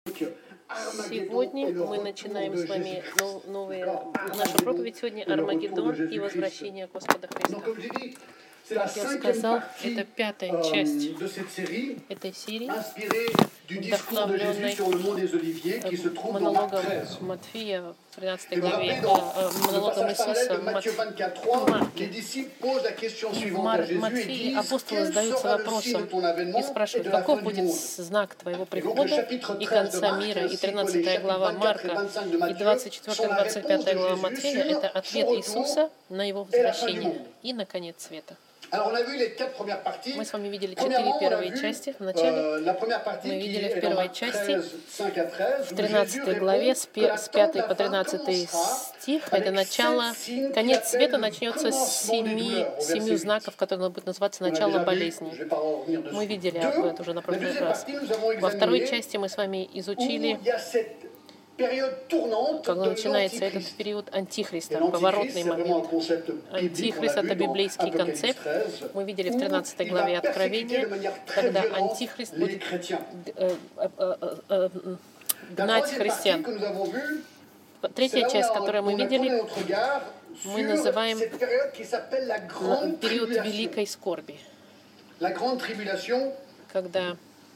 Сегодня мы начинаем с вами нашу проповедь сегодня «Армагеддон и возвращение Господа Христа». Как я сказал, это пятая часть этой серии, вдохновленной монологом Матфея в 13 главе, монологом Иисуса в Марке. В Матфее апостолы задаются вопросом и спрашивают, каков будет знак твоего прихода и конца мира. И 13 глава Марка и 24-25 глава Матфея — это ответ Иисуса на его возвращение и на конец света. Мы с вами видели 4 первые части. Вначале мы видели в первой части, в 13 главе, с 5 по 13 стих, это начало, конец света начнется с 7 знаков, которые будут называться начало болезни. Мы видели это уже на прошлый раз. Во второй части мы с вами изучили, когда начинается этот период Антихриста, поворотный момент. Антихрист — это библейский концепт. Мы видели в 13 главе Откровения, когда Антихрист будет гнать христиан. Третья часть, которую мы видели, мы называем период великой скорби, когда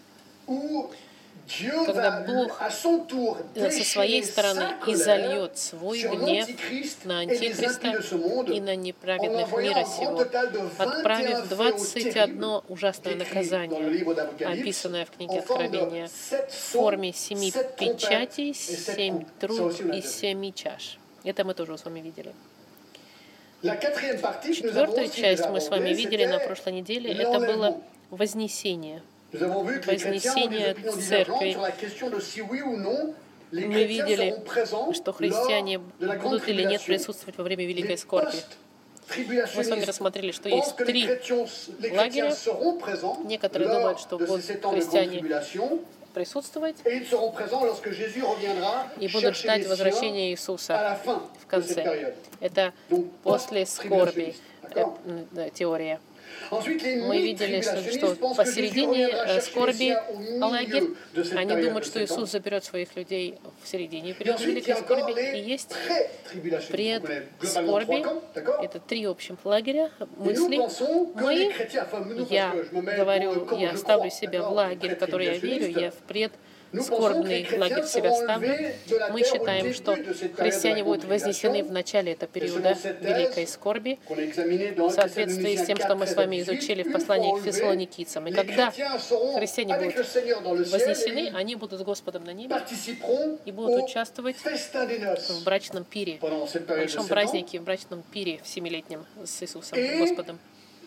Бог со своей стороны изольет свой гнев на Антихриста и на неправедных мира сего, отправив 21 ужасное наказание, описанное в книге Откровения, в форме 7 печатей, 7 труб и 7 чаш. Это мы тоже с вами видели. Четвертую часть мы с вами видели на прошлой неделе. Это было вознесение. Вознесение церкви. Мы видели, что христиане будут или нет присутствовать во время великой скорби. Мы с вами рассмотрели, что есть 3 лагеря. Некоторые думают, что будут христиане присутствовать и будут ждать возвращения Иисуса в конце. Это после скорби теория. Мы видели, что посередине скорби лагерь, они думают, что Иисус заберет своих людей в середине периода великой скорби. И есть предскорби, это 3 общих лагеря мыслей. Я ставлю себя в лагерь, в который я верю, я в скорбный лагерь себя ставлю. Мы считаем, что христиане будут вознесены в начале этого периода великой скорби в соответствии с тем, что мы с вами изучили в послании к фессалоникийцам. И когда христиане будут вознесены, они будут с Господом на небе и будут участвовать в брачном пире, в большом празднике, в брачном пире в 7-летнем с Иисусом, Господом.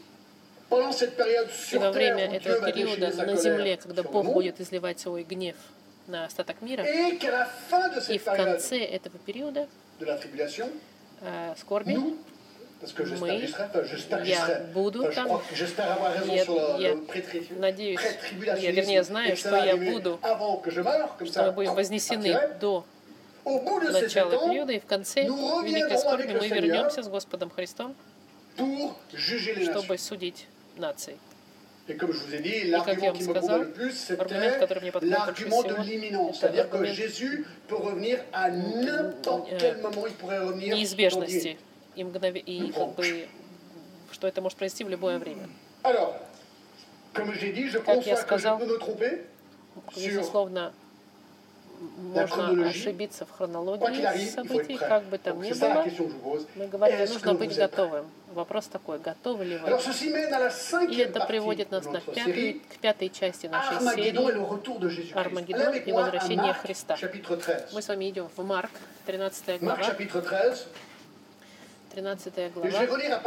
И во время этого периода на земле, когда Бог будет изливать свой гнев на остаток мира, и в конце этого периода скорби, я буду там, я надеюсь, я знаю, что я буду, что мы будем вознесены до начала периода, и в конце великой скорби мы вернемся с Господом Христом, чтобы судить нации. И как я вам сказал, аргумент, который мне подходит больше всего, это аргумент неизбежности и что это может произойти в любое время. Как я сказал, безусловно, можно ошибиться в хронологии событий, как бы там ни было. Мы говорим, нужно быть готовым. Вопрос такой, готовы ли вы? И это приводит нас к 5 части нашей серии «Армагеддон и возвращение Христа». Мы с вами идем в Марк, 13 глава. 13 глава,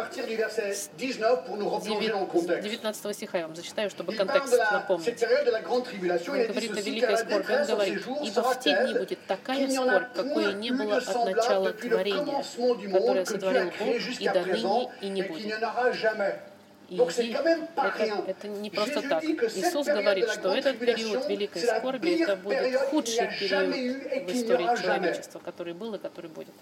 19 стиха я вам зачитаю, чтобы контекст напомнить. Он говорит о великой скорби. Он говорит, «Ибо в те дни будет такая скорбь, какой не было от начала творения, которое сотворил Бог, и до ныне и не будет». И это не просто так. Иисус говорит, что этот период великой скорби, это будет худший период в истории человечества, который был и который будет.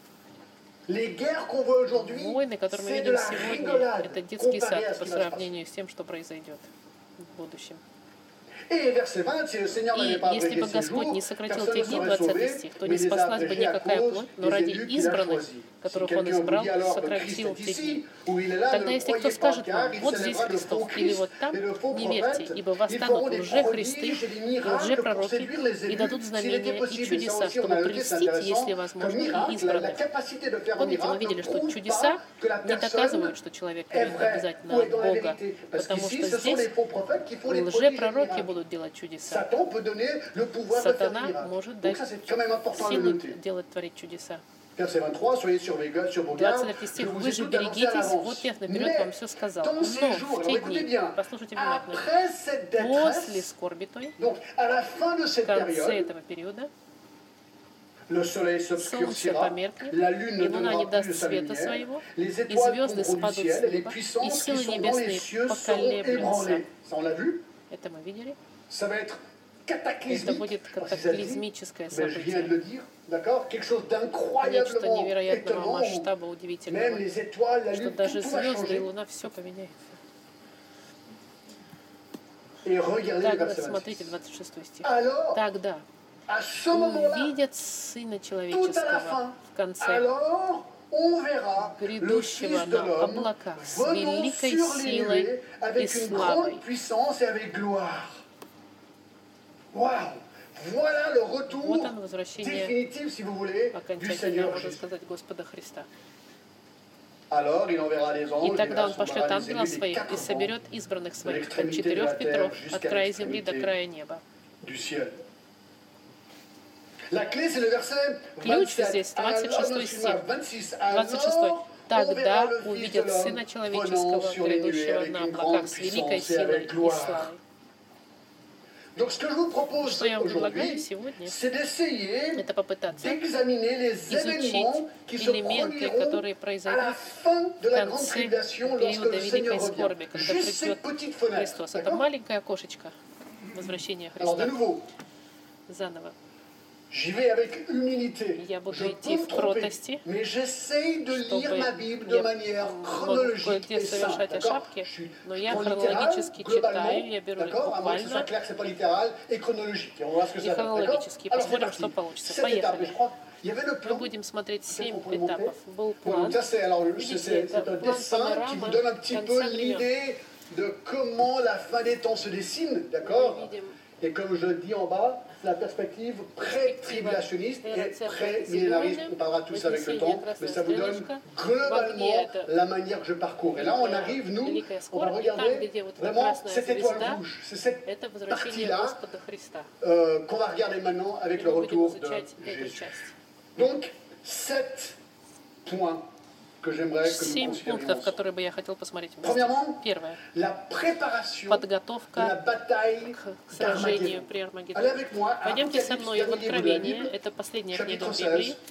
Войны, которые мы видим сегодня, это детский сад по сравнению с тем, что произойдет в будущем. Et verset 20, si le Seigneur n'avait pas если abrégé бы ces Господь jours, не сократил personne ne тех дней, serait 20 sauvé, стих, то mais не il les a спаслась бы abrégés à никакая cause плоть, но des ради élus qu'il a избранных, choisis. Si которых Он quelqu'un vous избрал, dit alors le Christ сократил est те ici, дни. ou il est là, Тогда, ne если кто croyez pas, скажет car вам, il вот здесь s'élèvera de Христос, faux или вот Christ там, et de faux не верьте, prophètes. ибо Ils восстанут feront des лже-христы prodiges et des и miracles pour лже-пророки, séduire les и élus, дадут s'il était знамения и possible. Et ça чудеса, aussi, on чтобы a noté, c'est прельстить, если intéressant, comme возможно, и miracle, la избранных. capacité de faire un Помните, мы miracle видели, ne что prouve чудеса pas que la не personne доказывают, что человек est имеет vrai обязательно ou от est dans la Бога, vérité. Parce потому qu'ici, что ce sont les здесь faux prophètes qui font les prodiges et les лже-пророки miracles. будут делать чудеса. Satan peut donner le pouvoir de faire des Сатана miracles. может Donc дать ça, c'est quand même important à le силу noter. творить чудеса. Verset 23, soyez sur vos gardes, 23 je стих. vous Вы ai же tout annoncé à берегитесь, вот l'avance. я наперед вам все сказал. Dans Но ces jours, в те alors écoutez дни, bien, послушайте внимательно, après cette после détresse, скорби той, donc à la fin de в cette конце période, этого периода, le soleil солнце s'obscurcira, померкнет, la lune ne и луна не donnera plus даст de sa света lumière, своего, les и étoiles звезды tomberont du спадут ciel, с et les неба, и puissances qui силы sont dans les небесные cieux seront поколеблются. ébranlées. Ça, on l'a vu. Это мы видели. Ça va être Это cataclysmique. будет Alors, si ça dit, катаклизмическое mais je viens de событие. le dire, d'accord? Quelque chose Нечто d'incroyablement невероятного étonnant. масштаба, Même удивительного, les étoiles, la что lune, даже tout va звезды и changer. луна все поменяется. Et regardez le Тогда, verset 26. смотрите, 26 стих. Alors, Тогда à ce moment-là, увидят Сына tout à la Человеческого fin, в конце, alors on verra le грядущего Fils de на l'homme облаках с venant великой sur les силой nuées и avec une славой. grande puissance et avec gloire. Waouh! Voilà le retour Вот оно, возвращение définitif, si vous voulez, du окончательное, Seigneur можно Jésus. сказать, Господа Христа. Alors, il enverra les И anges, тогда Он il пошлет rassemblera les ангелов élus des своих и quatre vents соберет избранных своих от l'extrémité de la 4 ветров, terre от jusqu'à края земли до l'extrémité края неба. du ciel. La clé, c'est le verset Ключ 27. здесь, Alors, 26 стих. 26. 26. Alors, on verra Тогда le Fils de увидят l'homme Сына venant Человеческого, sur les nuées грядущего avec на une облаках grande с великой puissance et силой avec и gloire. славой. Donc, ce que je vous propose Что я вам предлагаю aujourd'hui, сегодня, c'est d'essayer это попытаться d'examiner les изучить événements qui se элементы, produiront которые à la произойдут fin de в la grande конце tribulation lorsque периода le Seigneur великой revient. скорби, когда Juste cette придет petite fenêtre. Христос. Это D'accord? маленькое окошечко возвращения Alors, de Христа nouveau, заново. j'y vais avec humilité. Я буду Je peux идти me в tromper, кротости, mais j'essaye de lire ma Bible de я manière могу chronologique кое-где et simple. совершать D'accord? ошибки, Je suis но я prends хронологически littéral, globalement, читаю, я беру их d'accord? À moins que ce soit буквально clair que c'est pas littéral et chronologique. Et on va voir ce que и ça donne. D'accord? хронологически. Alors, c'est Посмотрим, parti. что получится. 7 étapes, mais Поехали. je crois qu'il y avait le Мы plan. будем смотреть 7 qu'on peut monter. этапов. Был Donc план. ça c'est alors Видите, c'est это un план dessin qui панорама vous donne un petit peu конца времен. l'idée de comment la fin des temps se dessine, Мы d'accord? видим Et comme je le dis en bas, la perspective pré-tribulationniste et pré-millénariste. On parlera tous avec le temps, mais ça vous donne globalement la manière que je parcours. Et là, on arrive, nous, on va regarder vraiment cette étoile rouge. C'est cette это возвращение partie-là Господа Христа. qu'on va regarder maintenant avec le Мы будем retour de изучать эту Jésus. часть. Donc, 7 points que j'aimerais que nous 7 considérions пунктов, ensemble. которые бы я хотел посмотреть вместе. Premièrement, Первое. la préparation de la Подготовка bataille к сражению d'Armageddon. при Allez Армагеддоне. avec moi à Пойдемте со Apocalypse, мной в dernier livre de la Откровение. Bible, Это последняя книга chapitre Библии, 16,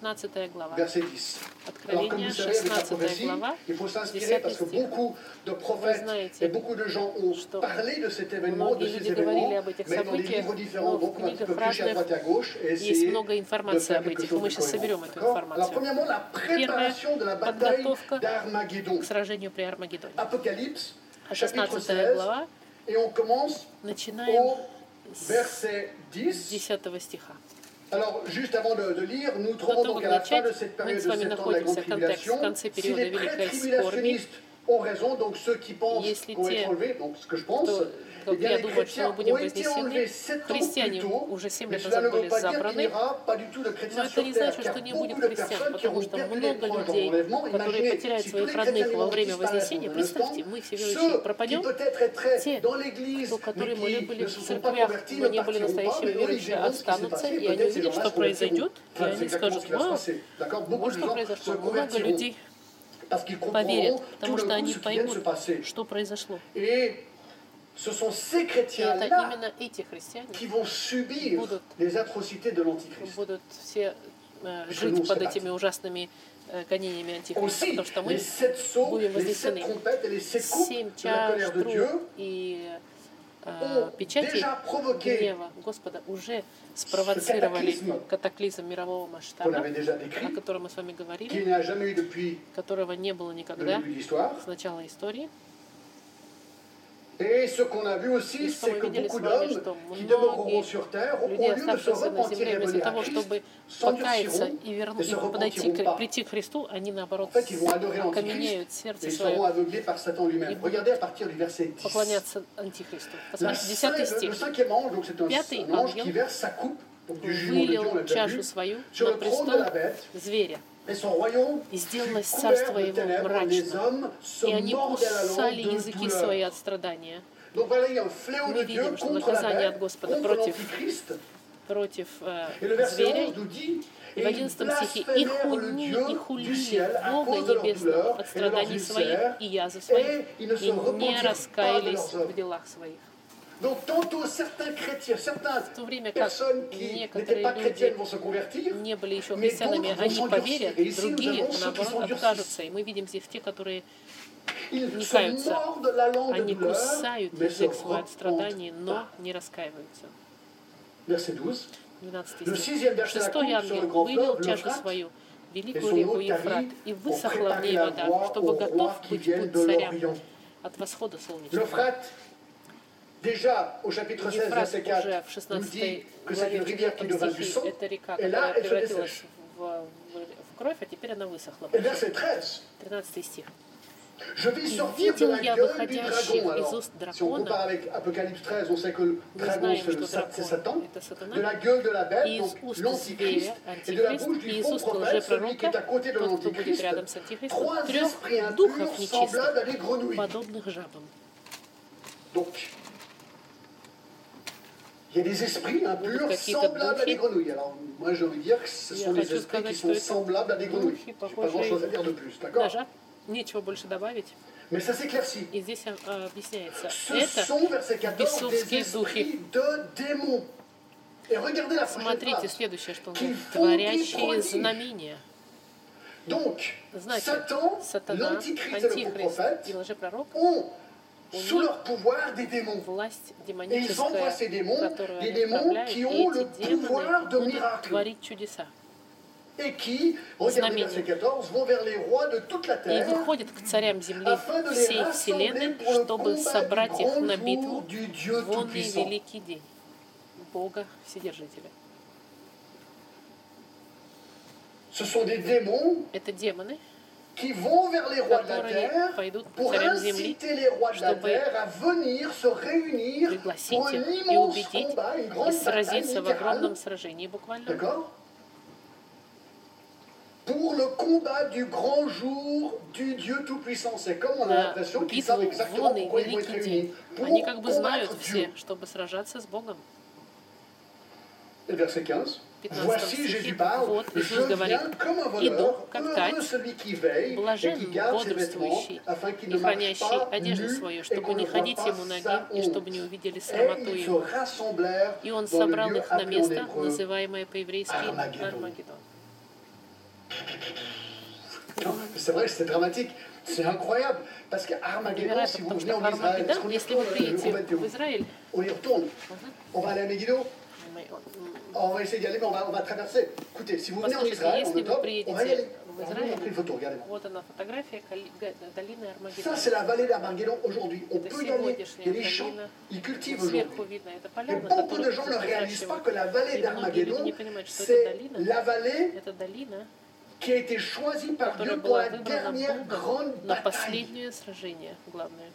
16 глава. verset 10. Alors, comme Откровение, vous savez, avec la 16 prophétie, глава, il faut s'inspirer 10 parce que стих. beaucoup de Вы prophètes знаете, et beaucoup de gens ont что parlé de cet événement, de многие ces люди говорили événements, об этих mais dans des событиях, livres différents, но в donc on va un petit peu книгах piocher à droite et à gauche et есть essayer много de информации faire об quelque этих, и chose мы de сейчас соберем cohérent. эту D'accord? Alors, информацию. premièrement, la préparation de la bataille подготовка d'Armageddon. к сражению при Армагеддоне. Apocalypse, А chapitre 16 16, глава, et on commence начинаем au с verset 10. 10 стиха. Alors, juste avant de lire, nous До trouvons того, donc как à la fin начать, de cette мы période с de вами 7 ans de la grande находимся в контексте, в tribulation. конце Si периода les Великой скорби. pré-tribulationnistes ont raison, donc ceux qui pensent Если qu'on va те, être enlevés, donc ce que je pense, кто, eh bien я les думаю, что chrétiens мы будем ont été enlevés вознесены, 7 ans plus христиане tôt, уже 7 mais лет cela назад ne veut были pas dire qu'il n'y забраны. aura pas du tout de Но chrétiens это sur не terre, значит, car что не beaucoup будет de христиан, personnes qui потому auront что perdu les много proches dans людей, l'enlèvement, которые imaginez потеряют si tous своих les chrétiens родных du во monde время disparaissent вознесения. en un instant, Представьте, мы все ceux верующие qui пропадем, peut-être être те, dans l'église, которые mais мы qui были ne в se sont pas церквях, convertis, но ne не были partiront pas, настоящими mais eux, ils верующими, verront ce qui s'est останутся, passé. и они Peut-être ces увидят, gens-là что se convertiront. произойдет, и Enfin, c'est они exactement скажут: ce qui va se вау, passer. D'accord? Beaucoup вот de что gens se произошло. Много convertiront людей parce qu'ils поверят, comprendront tout потому d'un что coup они ce qui vient de se поймут, passer. что произошло. Et ce sont ces И это chrétiens-là именно эти христиане qui vont subir будут les atrocités de l'Antichrist. будут все nous, жить c'est под parti. этими ужасными гонениями Антихриста, Aussi, потому что les мы 7 sceaux, будем les 7 вознесены. trompettes et les 7 coupes 7 de la чаш, colère de Dieu труб и ont печати déjà provoqué гнева Господа уже спровоцировали катаклизм мирового qu'on масштаба, avait déjà о décrit, котором мы с вами говорили, qu'il n'y a jamais eu depuis которого не было le никогда début de l'histoire. с начала истории. Et ce qu'on a vu aussi, c'est que beaucoup d'hommes qui demeureront sur terre, au lieu de se repentir et venir à Christ, s'endurciront et se repentiront pas. прийти к Христу, они наоборот En fait, ils vont adorer окаменеют l'Antichrist сердце et ils seront свое, aveuglés par Satan lui-même. Regardez à partir du verset 10. поклоняться Антихристу. Посмотрите, 10 Le стих. cinquième ange, donc c'est un ange qui verse sa coupe, donc du jugement de Dieu, on l'a Вылил déjà чашу vu, свою sur на le trône de престол la bête, зверя. et son royaume И fut сделалось couvert царство de его ténèbres, les мрачно, hommes se и они mordaient la кусали langue de языки свои douleur. от страдания. Donc voilà, il y a un fléau de Мы Dieu видим, что contre la наказание от bête, Господа contre l'Antichrist. против Et le verset зверя. 11 nous dit, И в et ils 11 стихе «И blasphémèrent le Dieu du хулили ciel à Бога cause de leur Небесного douleur от et de leurs страданий своих ulcères, и язв своих, et ils ne se и не repentirent pas de раскаялись leurs в œuvres. делах своих». Donc tantôt certains chrétiens, certaines В то время как personnes qui n'étaient некоторые pas chrétiennes люди vont se convertir, не были еще mais христианами, d'autres vont они s'endurcir. поверят, Et ici nous другие, avons ceux qui наоборот, s'endurcissent. откажутся. И мы видим здесь те, которые Ils не se каются. mordent la langue de Они douleur, кусают mais se язык свой от repentent страданий, но pas. не раскаиваются. Verset 12. 12 Le стих. sixième verset, la Шестой coupe sur le ангел grand вылил fleuve, чашу l'Euphrate, свою, et великую son реку eau Ефрат, tarie и pour высохла в préparer ней la вода, voie чтобы aux готов rois qui быть viennent путь de царям l'Orient. от восхода солнечного. L'Euphrate, déjà au chapitre 16, Ефрат verset 4, уже в nous dit 16 que c'est une главе rivière qui 4 devint du стихе, sang, это река, et là, которая elle se превратилась dessèche. в кровь, а теперь она высохла. Et verset 13, 13 стих. je vis И sortir de видел la я gueule du выходящих dragon. из Alors, уст si on compare дракона, avec Apocalypse 13, on sait que le мы dragon, знаем, c'est что c'est Satan, дракон — это de сатана, la gueule de la bête, и из donc уст l'Antichrist, зверя et de la Антихрист, bouche du и из faux уст prophète, celui qui est à лжепророка, côté de тот, кто будет l'Antichrist, рядом с Антихристом, trois трех esprits духов impurs нечистых, semblables à des grenouilles. подобных жабам. Donc, il y a des esprits impurs какие-то semblables à des духи. grenouilles. Alors, moi, j'ai envie de dire que ce Я sont des хочу esprits qui сказать, sont что это semblables à des grenouilles. духи, Je n'ai pas похожие grand-chose à dire de plus, на d'accord? жаб. Нечего больше добавить. Mais ça s'éclaircit. И здесь объясняется. Ce Это sont, verset 14, des бесовские духи. esprits de démons. Et regardez la prochaine Смотрите, phrase. следующее, что он Qui говорит. font des Творящие prodiges. знамения. Donc, Значит, Satan, сатана, l'Antichrist et le faux антихрист prophète и лжепророк ont sous leur pouvoir des démons. власть Et ils envoient ces демоническая, démons, которую des они démons отправляют, qui и ont le эти pouvoir демоны de будут miracle. творить чудеса. Et qui, regardez verset 14, vont vers les rois de toute la И terre выходят к царям земли afin de les всей rassembler вселенной, pour le чтобы combat собрать du их grand на jour битву du Dieu в онный Tout-Puissant. великий день Бога Вседержителя. Ce sont des démons Это демоны, qui vont vers les rois de la которые terre пойдут к pour царям земли, inciter les rois de la чтобы terre à venir se réunir пригласить pour un их и immense убедить, combat, une и grande bataille сразиться в огромном littérale, сражении буквально. d'accord? Pour le combat du grand jour du Dieu Tout-Puissant. C'est comme on a На l'impression qu'ils битву savent в exactement онный pourquoi ils vont être великий réunis. день. Pour Они как бы знают combattre все, Dieu. чтобы сражаться с Богом. Et verset 15. 15 Voici, стихе, Jésus parle, вот je Иисус говорит, viens comme un иду, voleur, как heureux тать, celui qui veille et блажен qui garde ses vêtements, бодрствующий afin qu'il и ne marche хранящий pas одежду nu свою, et чтобы qu'on не ne voit ходить pas ему ноги sa и чтобы honte. не увидели Et срамоту ils se его. rassemblèrent И он dans le собрал lieu их на appelé en место, hébreu называемое по-еврейски Армагеддон. Армагеддон. Non, c'est vrai, c'est dramatique. C'est incroyable. Parce qu'Armageddon, si vous Невероятно, venez потому en что Israël, est-ce Армагеддон, qu'on y если вы retourne приедете в Израиль, On y retourne. On va aller à Megiddo. On va essayer d'y aller, mais on va traverser. Écoutez, si vous venez en Послушайте, Israël, en если вы octobre, on va y aller. приедете в On va vous Израиль, montrer une photo, regardez-moi. вот она фотография долины Ça, Армагеддон. c'est la vallée d'Armageddon aujourd'hui. On Это peut y aller. Il y a сегодняшняя des champs. долина. Ils cultivent Сверху aujourd'hui. видно это Et поля, на beaucoup de которых gens ne réalisent pas выращивают. que la vallée И многие люди d'Armageddon, не понимают, что это c'est долина. la vallée Это долина, qui a été choisie par которая Dieu pour была la выбрана dernière grande Богом на bataille. последнее сражение главное.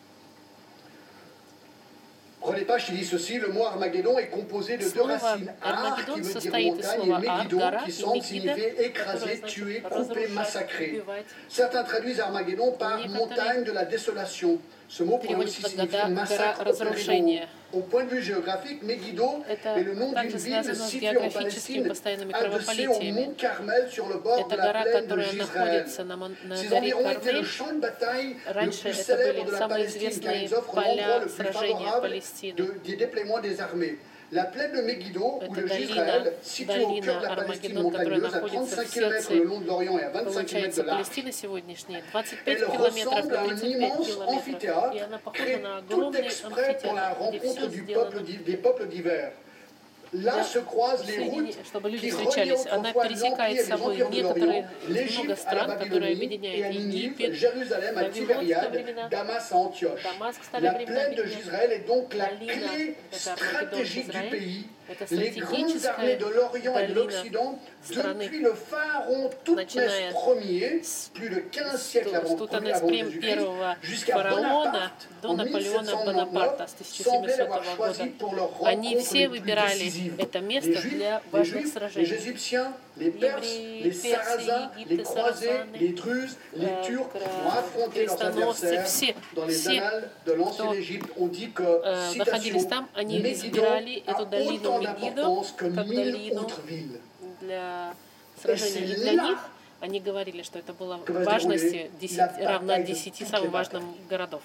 Prenez pas, je dis ceci, le mot Armageddon est composé de deux Слово racines. Ar, qui Армагеддон veut dire состоит из montagne, et слова Ар, Megiddo, гора, qui и semble Мегидо, signifier которое écraser, значит tuer, couper, разрушать, massacrer. убивать. Certains traduisent Armageddon par Некоторые montagne de la désolation. Ce mot pourrait переводят aussi как signifier гора massacre au разрушения. Au point de vue géographique, Megiddo Это est le nom d'une также ville связано с située en географическими Palestine, постоянными adossée au кровопролитиями. mont Carmel sur le bord de Это la гора, plaine de которая Gisraël. находится на Ces горе environs étaient le Кармель. champ de bataille le Раньше plus это célèbre были de la самые Palestine, car известные ils offrent l'endroit поля le plus сражения favorable Палестины. des déploiements des armées. La plaine de Megiddo, ou Это de долина, Gisraël, située au cœur долина de la Palestine Армагеддон, которая montagneuse, à находится 35 в km сердце, le long de l'Orient et à 25 km получается, de large. Палестины сегодняшние, 25 Elle километров ressemble à и un 35 immense километров. И amphithéâtre она похожа créé на tout огромный exprès pour la амфитеатр, где rencontre все des сделано peuples divers. là se croisent les routes чтобы люди qui встречались. relient Она autrefois пересекает l'Empire с et les собой empires de некоторые l'Orient, много l'Égypte à la стран, которые Babylonie et объединяют à Ninive, Египет, Jérusalem à Вавилонское Tibériade, времена, Damas à Antioche. Дамаск, старые La времена plaine de объединяют. Gisraël est donc la Долина, clé это Армагеддон stratégique du Израиль, pays. это Les grandes armées стратегическая de l'Orient et de долина l'Occident, страны. depuis le pharaon Toutmès Начиная Ier, plus de 15 siècles avant Тутанесприм Jésus-Christ, первого jusqu'à фараона Bonaparte до en Наполеона 1799, Бонапарта с semblaient 1700 l'avoir choisi года. pour leur Они rencontre все les plus выбирали décisives. это Les место Juifs, для les важных Juifs, les сражений. Égyptiens, les Perses, Евреи, les персы, Sarrasins, les египты, Croisés, сарацины, les Druzes, les Turcs vont affronter leurs крестоносцы, adversaires. Dans les annales de l'ancienne Égypte, on dit que, находились citation, там, они Médidon избирали a эту долину autant Мегидо d'importance que как 1000 долину autres villes. для сражений. И для них они говорили, что это было Que va se важности dérouler la равно bataille de 10 toutes самым les важным городов.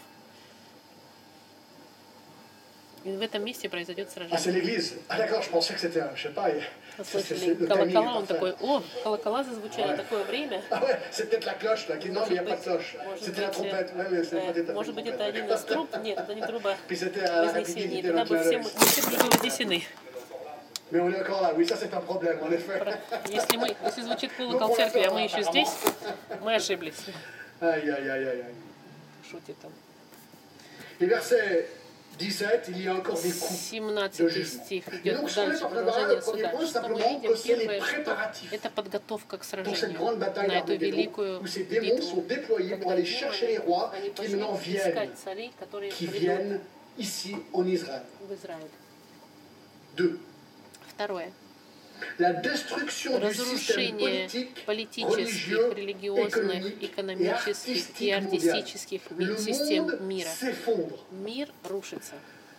И в этом месте произойдет Ah, сражение. c'est l'église. Ah, d'accord, je pensais que c'était, je sais pas. Послышали le timing est колокола, он parfait. такой, о, колокола зазвучали Ouais. такое время. Ah ouais, c'est peut-être la cloche là. Non, mais il n'y a pas de cloche. C'était la trompette. Ouais, mais c'est peut-être Может быть, это один из труб? Нет, это не труба Puis c'était à la Вознесения. rapidité de Тогда notre бы все larynx. мы все были вознесены. Mais on est encore là. Oui, ça c'est un problème, en effet. Если звучит колокол церкви, а мы еще здесь, мы ошиблись. Aïe, aïe, aïe, aïe, aïe. Шутит там. Et verset 17, il y a encore des coups. 17 стих Et идет donc, ce qu'on est дальше, en train de voir, le продолжение premier суда. point, Что мы simplement видим? que c'est les Первое, что préparatifs это подготовка к pour cette сражению, grande bataille на эту d'Armageddon, великую où ces démons sont битву. déployés pour aller chercher les rois Они qui maintenant пошли viennent, искать царей, которые qui придут viennent ici en Israël. в Израиль. 2. Второе. La destruction du système Разрушение politique, политических, religieux, религиозных, économique et экономических и artistique mondial. артистических Le систем monde мира. s'effondre. Мир рушится.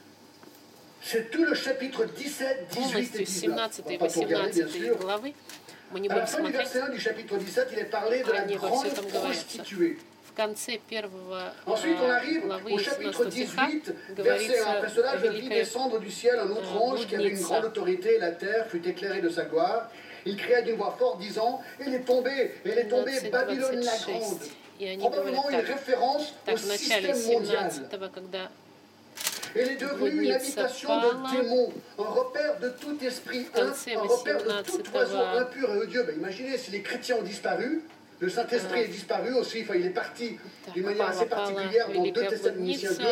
C'est tout le chapitre 17, 18 et Полностью 19. On 17 va и pas tout regarder, bien 18 sûr. главы мы не À la будем fin du смотреть. verset 1 du chapitre 17, il est parlé de la Они во grande всем там говорятся. prostituée. В конце первого Ensuite, on arrive главы au chapitre 17 стиха 18, verset 1. говорится Après cela, о je vis великой descendre du ciel un autre ange qui avait une grande autorité, et la terre fut éclairée de sa gloire. Il cria d'une voix forte, disant, elle est tombée, Babylone la grande. И они Probablement говорят une так. référence au Так, в начале système mondial. 17-го, когда Elle est devenue une habitation de démons, un repère de tout esprit un repère de tout oiseau impur et odieux. Ben, imaginez si les chrétiens ont disparu, le Saint-Esprit est disparu aussi, enfin, il est parti d'une manière assez particulière dans 2 Thessaloniciens 2.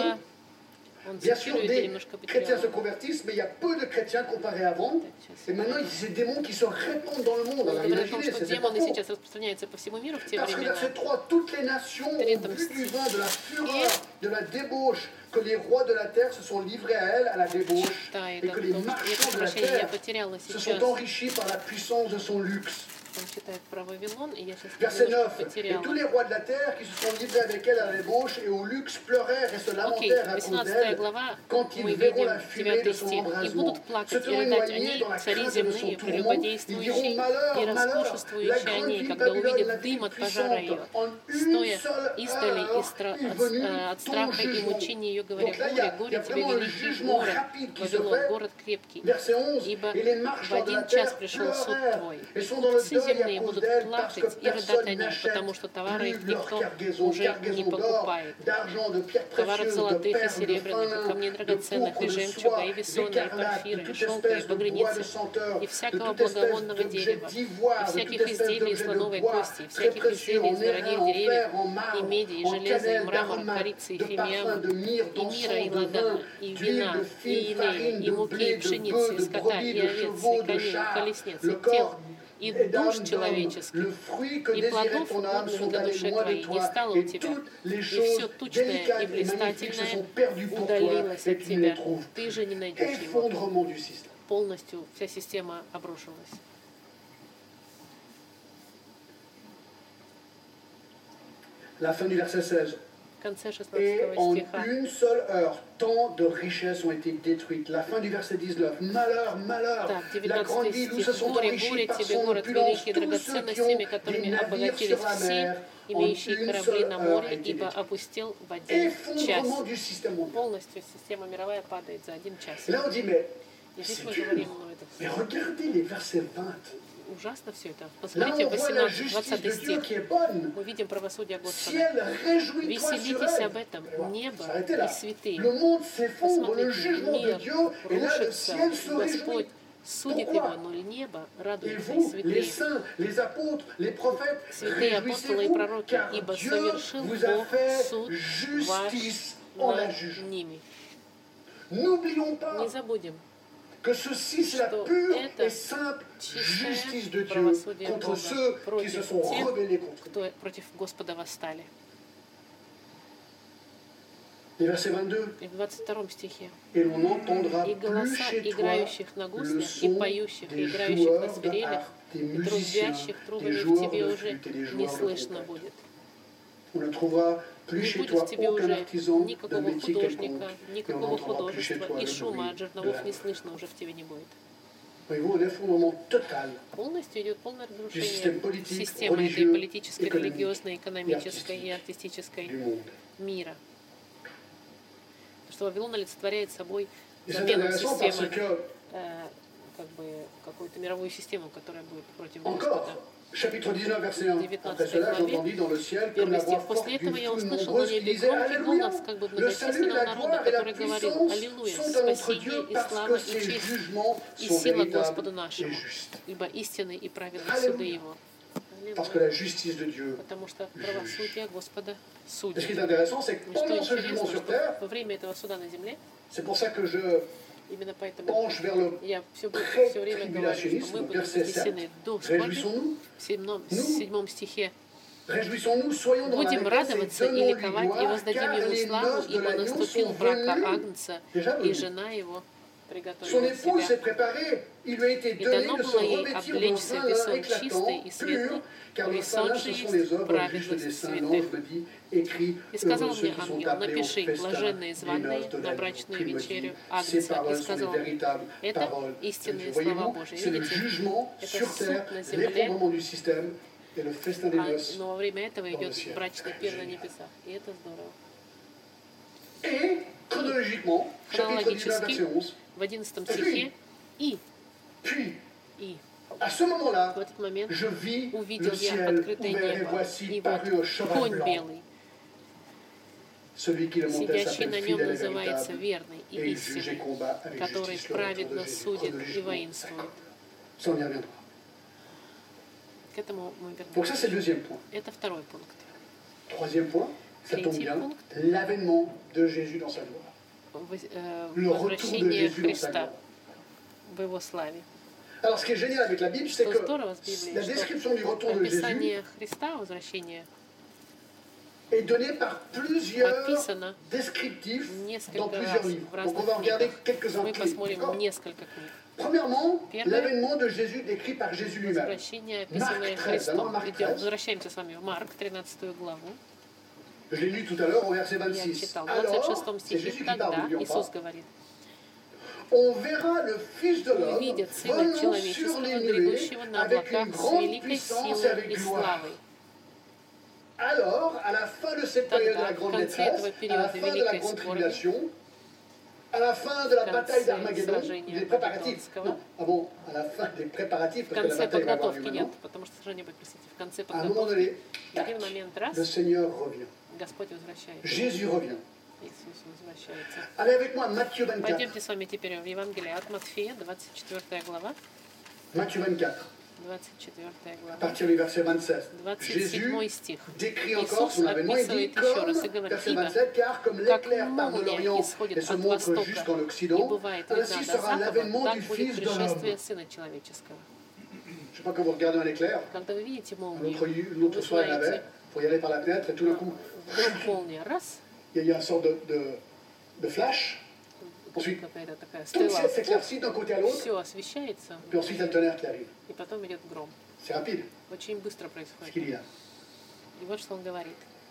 Bien sûr, des chrétiens se convertissent, mais il y a peu de chrétiens comparés avant. Et maintenant, il y a ces démons qui se répandent dans le monde. Alors imaginez, c'est pas демоны faux. сейчас распространяются по всему миру в те Parce que времена. verset 3, toutes les nations ont bu du vin de la fureur, de la débauche, que les rois de la terre se sont livrés à elle, à la débauche, et que les marchands de la terre se sont enrichis par la puissance de son luxe. Он читает про Вавилон, и я сейчас Verset 9. Et потеряла. tous les rois de la terre qui se sont livrés avec elle à la débauche et au luxe pleurèrent et se Окей, lamentèrent à cause 18 d'elle глава, quand мы ils verront видим la fumée de 9 son стих. «И embrasement. будут Se плакать и tenant рыдать éloignés они, dans la цари crainte de son земные, tourment, ils прелюбодействующие diront и malheur, malheur, la роскошествующие grande они, ville когда Babylone, увидят la дым ville от пожара ее, puissante, en une стоя seule издали heure est venu от ton страха и jugement. мучения ее, говоря, Donc là, il y a горе тебе vraiment un великий jugement город, rapide qui se Вавилон, fait. город крепкий, Verset 11. ибо Et les в marchands de la один час terre пришел суд pleurèrent твой. et sont dans le Все deuil à земные cause будут d'elle parce que плакать и рыдать о personne ней, n'achète потому что товары их plus leur никто cargaison, уже не cargaison d'or, покупает. d'argent, de pierres Товары précieuses, de золотых и perles, de серебряных, fin и камней lin, de драгоценных, pourpre, и de жемчуга, soie, и весона, и d'écarlate, de порфира, и toute шелка, и espèce de bois de багряницы, senteur, и de всякого toute espèce благовонного d'objet дерева, d'ivoire, и de всяких toute espèce изделий из d'objet de слоновой bois, кости, и très всяких précieux, изделий en из дорогих airain, en деревьев, fer, en и marbre, меди, и en железа, и cannelle, мрамора, d'aromates, корицы, и de parfums, фимиама, de myrrhe, и мира, d'encens, и de ладана, vin, и d'huile, вина, de и fine инея, farine, и de муки, blé, и de пшеницы, bœufs, и de скота, brebis, и de овец, chevaux, и de коней, и chars, колесниц, le и тел, corps и et душ d'âme d'homme, человеческих, le fruit que и désirait плодов ton âme угодных sont для allés душе loin de твоей не toi, стало у et тебя, toutes les и choses все тучное и délicates et magnifiques se блистательное sont perdues pour toi, удалилось et от tu ne les тебя. trouves Ты plus. же не найдешь его. Effondrement du système. Полностью вся система обрушилась. La fin du verset 16. В конце Et 16 en стиха. une seule heure, tant de richesses ont été détruites. La fin du verset 19. Malheur, malheur. Так, La grande 19 ville où se стих. sont Горе, enrichis горе par тебе, son город opulence великий, tous ceux qui драгоценностями, ont которыми des navires обогатились sur la все, mer. En имеющие une корабли seule на heure a море, été ибо détruite. опустил в один час. Effondrement du système mondial. Полностью система мировая падает за один час. Et là on dit, mais И здесь c'est мы dur. говорим, ну это Mais regardez les versets 20. ужасно все это. Là Посмотрите, on voit la 18, justice 20 de Dieu стих. qui est bonne. Мы видим правосудие Господа. Ciel, réjouis-toi sur Веселитесь elle. об этом, небо S'arrêtez и là. святые. Le monde s'effondre, le Посмотрите, jugement de мир Dieu, et là le рушится, ciel se Господь réjouit. судит его, но небо Et радуется, и vous, les святые. saints, les apôtres, les prophètes, Святые апостолы и réjouissez-vous, пророки, car ибо Dieu совершил vous a Бог fait суд ваш justice en la над jugeant. ними. N'oublions Не pas забудем, que ceci, c'est la что pure это et simple чистое justice de Dieu правосудие contre Бога ceux qui se против sont тех, rebellés contre lui. кто против Господа восстали. Et verset 22. И в 22 стихе. Et l'on n'entendra И plus голоса chez toi играющих на le гуслях, и son поющих, и des играющих на joueurs de свирелях, harpe, des и musiciens, трубящих des трубами в joueurs тебе de уже flûte et des не joueurs de слышно trompette. будет. On ne trouvera plus Не chez будет toi в тебе aucun уже artisan d'un никакого métier художника, quelconque, et on никакого n'entendra plus chez художества, toi и le шума от bruit de жерновов la не harpe. слышно уже в тебе не будет. Voyez-vous, un effondrement total Полностью идет полное du разрушение système politique, системы этой religieux, политической, économique религиозной, экономической и du артистической monde. мира. Что Вавилон олицетворяет собой Et c'est замену intéressant parce системы, que, как бы какую-то мировую систему, которая будет против encore, Господа. chapitre 19, verset 1, 19 après cela, главе, j'entendis dans le ciel comme Первый la voix стих. forte После d'une этого я foule услышал на nombreuse qui небе disait громкий Alléluia, голос, как бы le salut, многочисленного la народа, gloire et la который говорил: puissance Аллилуйя, sont à notre спасение Dieu и parce слава que и ses честь jugements и sont сила Господу véritables et нашему, justes. ибо истинны и праведны Аллилуйя. суды Его. Parce que la justice de Dieu. Потому что правосудие Господа Et ce судит. qui est intéressant, c'est que И что pendant ce jugement интересно, sur что terre, во время этого суда на земле, c'est pour ça que je именно поэтому penche vers le я все время говорю, что pré-tribulationnisme, мы будем verset 7. вознесены до скорби. Réjouissons-nous, В 7 стихе réjouissons-nous, soyons dans la будем allégresse радоваться et и donnons-lui ликовать, и gloire, воздадим car Ему les славу, noces de ибо l'agneau наступил sont брак venues. Агнца, Déjà и venues. жена Его Son приготовила épouse себя. s'est préparée, il lui a été И donné дано de se было ей revêtir d'un облечься fin в lin весон éclatant, чистый и pur, светлый, car le fin весон lin, же ce sont есть les œuvres justes праведность des saints. святых. L'ange me dit, écrit, И сказал heureux ceux мне qui sont ангел: appelés au напиши, festin блаженные des званые noces de на l'agneau. брачную Puis il me dit, вечерю ces Агнца. И paroles sont les сказал мне: véritables это paroles de Dieu. истинные слова Voyez-vous, Божьи. c'est le Видите, jugement это sur суд terre, на земле, l'effondrement du système et le festin des noces. но во время этого dans le идет ciel. брачный пир на небесах. И это здорово. Et chronologiquement, chapitre 19, verset 11, В 11 стихе puis и à ce moment-là, в этот момент je vis увидел le я ciel открытое ouvert et небо, voici и вот parut un cheval конь blanc. белый, Celui qui le montait сидящий s'appelle на нем, fidèle et называется véritable, верный и et il juge et истинный, combat avec который justice le retour de праведно Jésus. судит и Chronologiquement, воинствует. ça on y reviendra. К этому мы Donc ça c'est вернемся. le deuxième point. Это второй пункт. Troisième point, ça tombe Третий bien, пункт. l'avènement de Jésus dans sa gloire. Le retour de Возвращение Jésus dans sa Христа gloire. в Его славе. Alors ce qui est génial avec la Bible, c'est Что que здорово с Библией, la что description du retour de Jésus описание Христа, возвращение, est donnée par plusieurs прописано descriptifs dans несколько plusieurs раз livres. в Donc on разных va regarder книгах. quelques-uns Мы clés. посмотрим D'accord. несколько книг. Premièrement, Первое. l'avènement de Jésus décrit par Jésus lui-même. Возвращение, описанное Марк 13, alors Христом. Марк Идем, 13. возвращаемся с вами в Марк, 13 главу. Je l'ai lu tout à l'heure au verset Я 26. читал в Alors, 26 c'est стихе. Jésus qui parle, Тогда n'oublions Иисус pas. говорит: On verra le Fils de l'homme увидят Сына venant sur Человеческого, les грядущего nuées на avec une облаках с grande великой puissance et силой avec и gloire. славой. Alors, à la fin de cette période de Тогда, la в grande конце détresse, этого à la периода fin de la великой grande скорби, tribulation, à la fin de la в bataille конце d'Armageddon, сражения des préparatifs, Армагеддонского, non, ah bon, à la fin des préparatifs, в parce que la конце bataille va avoir lieu подготовки нет, maintenant, потому что сражение будет, простите, в конце à un moment подготовки, donné, в один момент le раз Seigneur revient. Господь возвращается. Jésus revient. Иисус возвращается. Allez avec moi, Matthieu 24. Пойдемте с вами теперь в Евангелие от Матфея, 24 глава. Matthieu 24, 24 à глава. partir du verset 27. 27 Jésus стих. décrit encore Иисус son avènement, il dit описывает еще раз и comme, говорит: verset ибо 27, car comme как l'éclair part de молния l'Orient et исходит se от montre востока jusqu'en и Occident, бывает ainsi видна до sera запада, l'avènement так du будет Fils de l'homme. пришествие Сына Человеческого. Je sais pas quand vous regardez un éclair, Когда вы видите un молнию, autre вы soir il y en avait, знаете, il faut y aller par la fenêtre et tout d'un coup, вдруг молния, раз, il y a une sorte de flash, ensuite какая-то такая tout стрела, le ciel s'éclaircit d'un côté à l'autre, все освещается, puis ensuite un tonnerre qui arrive. и потом идет гром. C'est rapide Очень быстро ce происходит. qu'il y a. И вот что он говорит.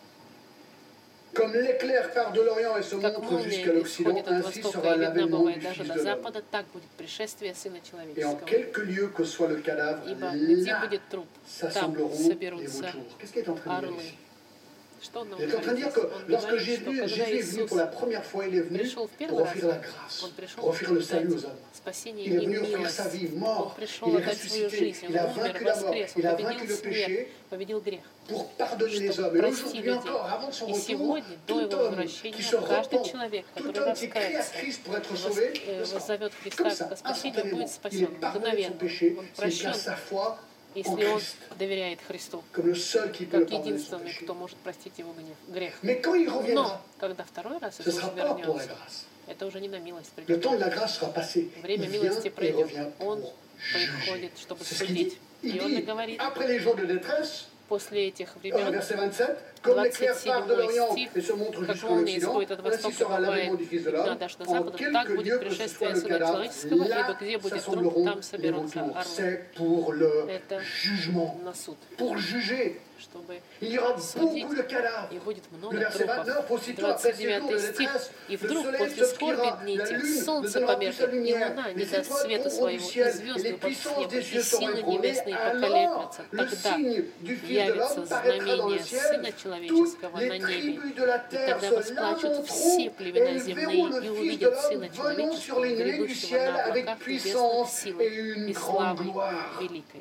Comme l'éclair part de l'Orient et se Как montre молния jusqu'à l'Occident, исходит от ainsi востока sera и видна l'avènement бывает du даже Fils до de l'homme. запада, так будет пришествие Сына Et en Человеческого. quelques lieux que soit le cadavre, Ибо где là будет труп, там s'assembleront les соберутся vautours. Qu'est-ce qui est en train de dire орлы. ici? Что он нам Il est en train de dire говорит? que Он lorsque говорит, что Jésus когда est venu Иисус pour la première fois, il est venu пришел в pour первый раз, offrir la grâce, он пришел pour offrir le salut дать aux hommes. спасение Il est и venu offrir милость. sa vie, Он mort, пришел il est отдать свою ressuscité, жизнь, il a он умер, vaincu la mort, воскрес, он il a vaincu победил le смерть, péché победил грех, pour pardonner les чтобы hommes. Et простить aujourd'hui людей. encore, avant de son И retour, сегодня, до tout его homme qui возвращения, se каждый repent, человек, tout который homme qui crie à раскается, Christ pour être sauvé, воззовет comme Христа ça, к спасению, instantanément, будет il спасен est pardonné de son мгновенно. péché Он s'il прощен, place sa foi en если он Christ, доверяет Христу, comme le seul qui peut le как pardonner son единственный, péché. кто может простить его грех. Mais quand il reviendra, Но когда второй раз ce ne Иисус sera pas pour la вернется, grâce. это уже не на милость Le придет. temps de la grâce sera passé. Il Время vient милости et пройдет. revient Он pour приходит, juger. чтобы C'est ce qu'il dit. судить. Il И он dit, говорит, après les jours de détresse, после этих времен, verset 27, comme l'éclair part de 27 l'Orient стих, et se montre как jusqu'en молния Occident, исходит от ainsi востока, sera l'avènement бывает du Fils de видна l'homme. даже до En запада, так quelques будет lieux que ce soit пришествие le Сына cadavre, Человеческого, ибо là где будет труп, s'assembleront там les соберутся retours. орлы. C'est pour le Это jugement, на суд, pour juger. чтобы Il y aura судить, beaucoup de cadavres. и будет Le много verset трупов. 29, aussitôt après ces jours de 29 стих. détresse, И le вдруг soleil после скорби s'obscurera, дней la тех lune ne солнце donnera plus sa померкнет, и lumière, луна не les даст étoiles света tomberont своего, du и ciel, et звезды les упадут с puissances неба, des и cieux seront силы ébranlées. небесные Alors, поколеблются. le Тогда signe du Fils de явится l'homme paraîtra dans le знамение ciel. Сына Toutes Человеческого les на небе. tribus de la И terre тогда se восплачут все lamenteront, et племена ils земные verront le и Fils de увидят l'homme Сына venant sur Человеческого, les nuées du грядущего ciel на avec облаках небесных puissance силой et une и grande славой gloire. великой.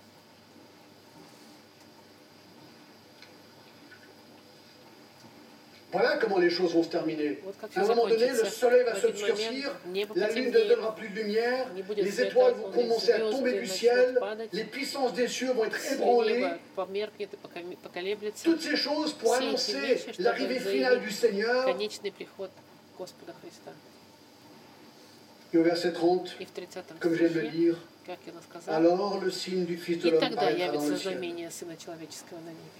Voilà comment les choses vont se terminer. Вот как À un все moment donné, le закончится. soleil va В один s'obscurcir, момент небо la lune ne потемнеет, donnera plus de lumière, не будет les света étoiles от vont луны, commencer à tomber звезды du начнут ciel, падать, les puissances des cieux vont être все ébranlées. небо померкнет и поколеблется. Toutes ces choses pour Все эти annoncer вещи, чтобы l'arrivée finale du заявить Seigneur. конечный приход Господа Христа. Et au verset 30, И в 30 comme je viens de le стихе, dire, как я сказал, alors le signe du Fils de и l'homme тогда paraîtra dans явится le ciel. знамение Сына Человеческого на небе.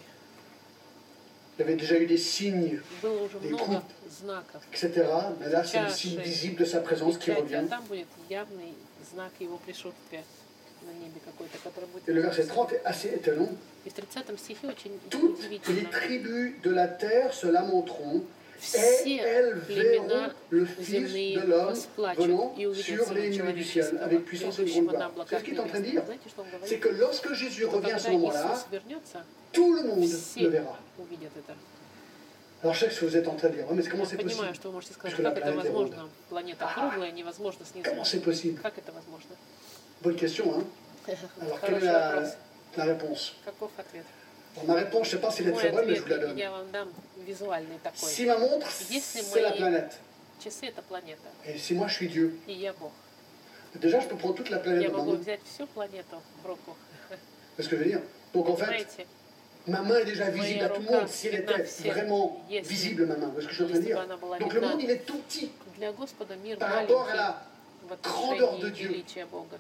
Il y avait déjà eu des signes, Было уже des много coupes, знаков, etc. Mais là, c'est le signe visible de sa présence qui печати, а revient. там будет явный знак Его присутствия на небе какой-то, который будет. Et le verset 30 est assez étonnant. И в 30 стихе очень Toutes les удивительно. tribus de la terre se lamenteront, et Все elles verront племена le Fils земные de l'homme восплачут venant и увидят sur les Сына nuées du ciel Человеческого, avec puissance et грядущего grande на gloire. C'est ce облаках qu'il est en train de небесных. dire. Знаете, что он C'est говорит? que lorsque Jésus Что revient à когда ce moment-là, Иисус вернется, tout le monde le все verra. увидят это. Alors je sais que vous êtes en train de dire, oh, mais comment Я c'est понимаю, possible? что вы можете сказать, Puisque la как это planète est ronde. возможно? Планета круглая, невозможно снизу. Comment c'est possible? Как это возможно? Bonne question, hein? Alors quelle est Хороший вопрос. la réponse? Каков ответ? Bon, ma réponse, je ne sais pas si elle est Мой très bonne, mais je ответ vous la donne. я вам дам визуальный такой. Si ma montre, Если c'est la мои planète, часы — это планета, et si moi je suis Dieu, и я Бог, déjà je peux prendre toute la planète я dans ma могу main. взять всю планету в руку. C'est ce que je veux dire. Donc en fait, Знаете, ma main est déjà visible à tout le monde si elle était vraiment visible, ma main. Vous voyez ce que je suis en train de если бы dire? она была Donc le monde, видна, il est tout petit для Господа мир par rapport à маленький la в grandeur de отношении Dieu. величия Бога.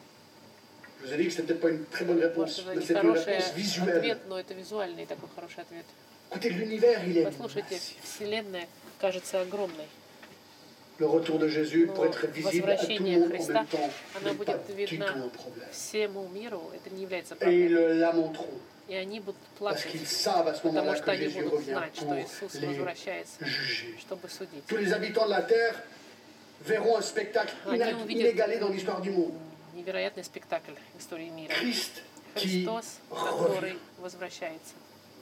Je vous ai dit que c'était peut-être pas une très bonne réponse, Может, это mais не c'est une хороший réponse visuelle. ответ, но это визуальный такой хороший ответ. Écoutez, l'univers, il est Послушайте, Вселенная кажется огромной. le retour de Jésus Но pour être visible à tout le возвращение monde en Христа, même temps она n'est pas будет du видна tout un problème. всему миру, это не является Et ils проблемой. le lamenteront И они будут parce плакать, qu'ils savent à ce потому moment-là что que они Jésus будут revient знать, что pour Иисус les возвращается, juger. чтобы судить. Tous les habitants de la terre verront un spectacle Они увидят inégalé dans l'histoire du monde. невероятный спектакль в истории мира. Christ qui Христос, revient. который возвращается.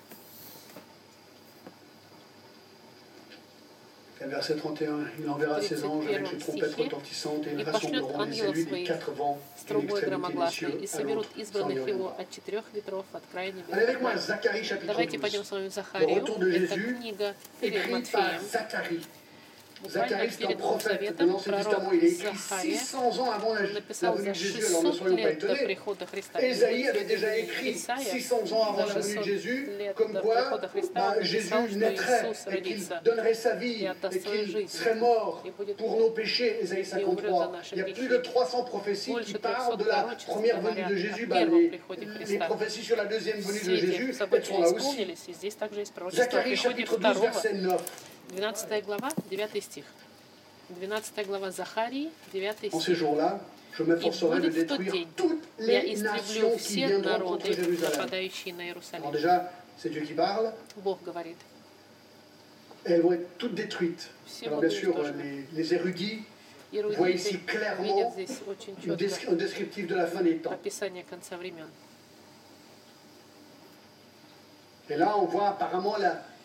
Et verset 31, il enverra ses anges avec les trompettes retentissantes et ils rassembleront les élus des quatre vents с et трубой l'extrémité des громогласной, cieux и à соберут l'autre, sans избранных dire его от четырех ветров, от края небес. Allez avec moi à Zacharie chapitre Давайте пойдем 12, с вами в Захарию. Le retour de Это Jésus, книга перед écrit par Матфеем. Zacharie. Буквально Zacharie, c'est un перед Новым prophète de Заветом l'Ancien пророк Testament. Il est écrit Захария 600 ans avant la написал venue за de Jésus, alors ne 600 soyons pas лет до étonnés. прихода Христа. Ésaïe avait déjà écrit Исаия 600 ans avant за la venue de 600 Jésus, лет comme до quoi прихода Христа он Jésus написал, что naîtrait Иисус et qu'il родится donnerait sa vie и отдаст et свою qu'il жизнь serait mort и будет pour nos péchés, Ésaïe и умрет за 53. наши Il y a plus грехи. de 300 prophéties Больше qui 300 parlent de la пророчеств première venue говорят de о Jésus. первом приходе Les Христа. prophéties sur la deuxième venue de Все Jésus, эти elles события sont là aussi. исполнились, и здесь также есть пророчество о Zacharie приходе chapitre 12, второго. verset 9. 12 глава, 9 стих. 12 глава Захарии, 9 En ces стих. jours-là, je m'efforcerai de будет в тот détruire день, toutes Я les истреблю nations qui все viendront народы, contre Jérusalem. нападающие на Alors Иерусалим. déjà, c'est Dieu qui parle. Бог говорит. Elles vont être toutes détruites. Все Alors bien будут sûr, уничтожены. les érudits voient Эрудиты ici clairement видят здесь очень четко un descriptif de la fin des temps. описание конца времен. Et là, on voit apparemment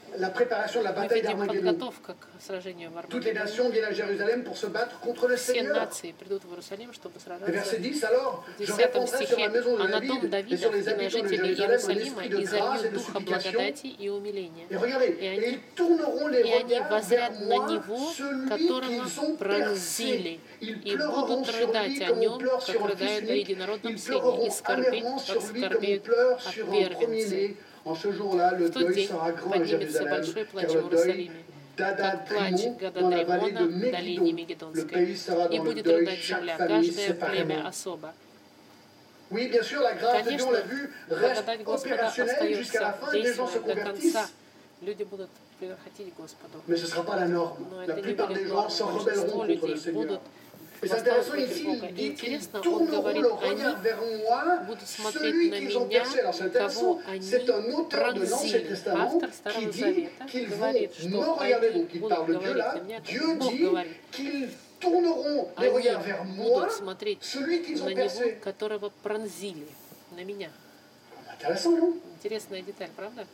la préparation de la Мы bataille видим d'Armageddon. подготовку к сражению в Toutes les Армагеддоне. nations viennent à Jérusalem pour se battre contre le Все Seigneur. нации придут в Иерусалим, чтобы Et сражаться. verset 10, alors, В je 10 répandrai sur la стихе: maison de «А на дом David et Давида sur les и на habitants de жителей Jérusalem un Иерусалима esprit de и grâce залью et de духа supplication. благодати и умиления». Et regardez, И et они, ils tourneront les и они regards vers воззрят на moi, него, celui которого qu'ils ont пронзили, percé. Ils и pleureront будут sur рыдать lui о comme on нем, pleure sur как un fils рыдают о unique. единородном Ils сыне, и pleureront скорбеть, amèrement как sur lui comme on скорбеют pleure о sur un первенце. premier-né. En ce jour-là, le В тот deuil день sera grand à поднимется Jérusalem, большой плач car в le deuil Иерусалиме, как плач d'Adad-Rimon dans la vallée de Гададримона в долине Megiddo. Le Мегидонской. pays sera И dans le будет deuil, рыдать chaque земля, famille каждое племя séparément. особо. Oui, bien sûr, la grâce de Dieu, on l'a vu, reste Благодать Господа opérationnelle jusqu'à la остается fin, des gens se действенной до конца. convertissent. Люди будут приходить к Господу. Mais ce ne sera pas la norme. Но La это не plupart будет des gens нормой. s'en Большинство rebelleront contre le людей Seigneur. будут Et c'est intéressant восставать ici, против Бога. il И dit qu'ils интересно, он tourneront говорит, leur они regard vers moi, будут смотреть celui на qu'ils ont меня, percé. Alors c'est intéressant, кого они c'est un auteur de l'Ancien пронзили. Testament Автор qui Старого dit Завета qu'ils vont говорит, me что regarder. они Donc il будут parle de Dieu говорить là. на меня, Dieu как Бог dit говорит. qu'ils tourneront les Они regards vers moi, будут смотреть celui qu'ils на ont него, percé. которого пронзили, на меня. Intéressant, non? Интересная деталь, правда?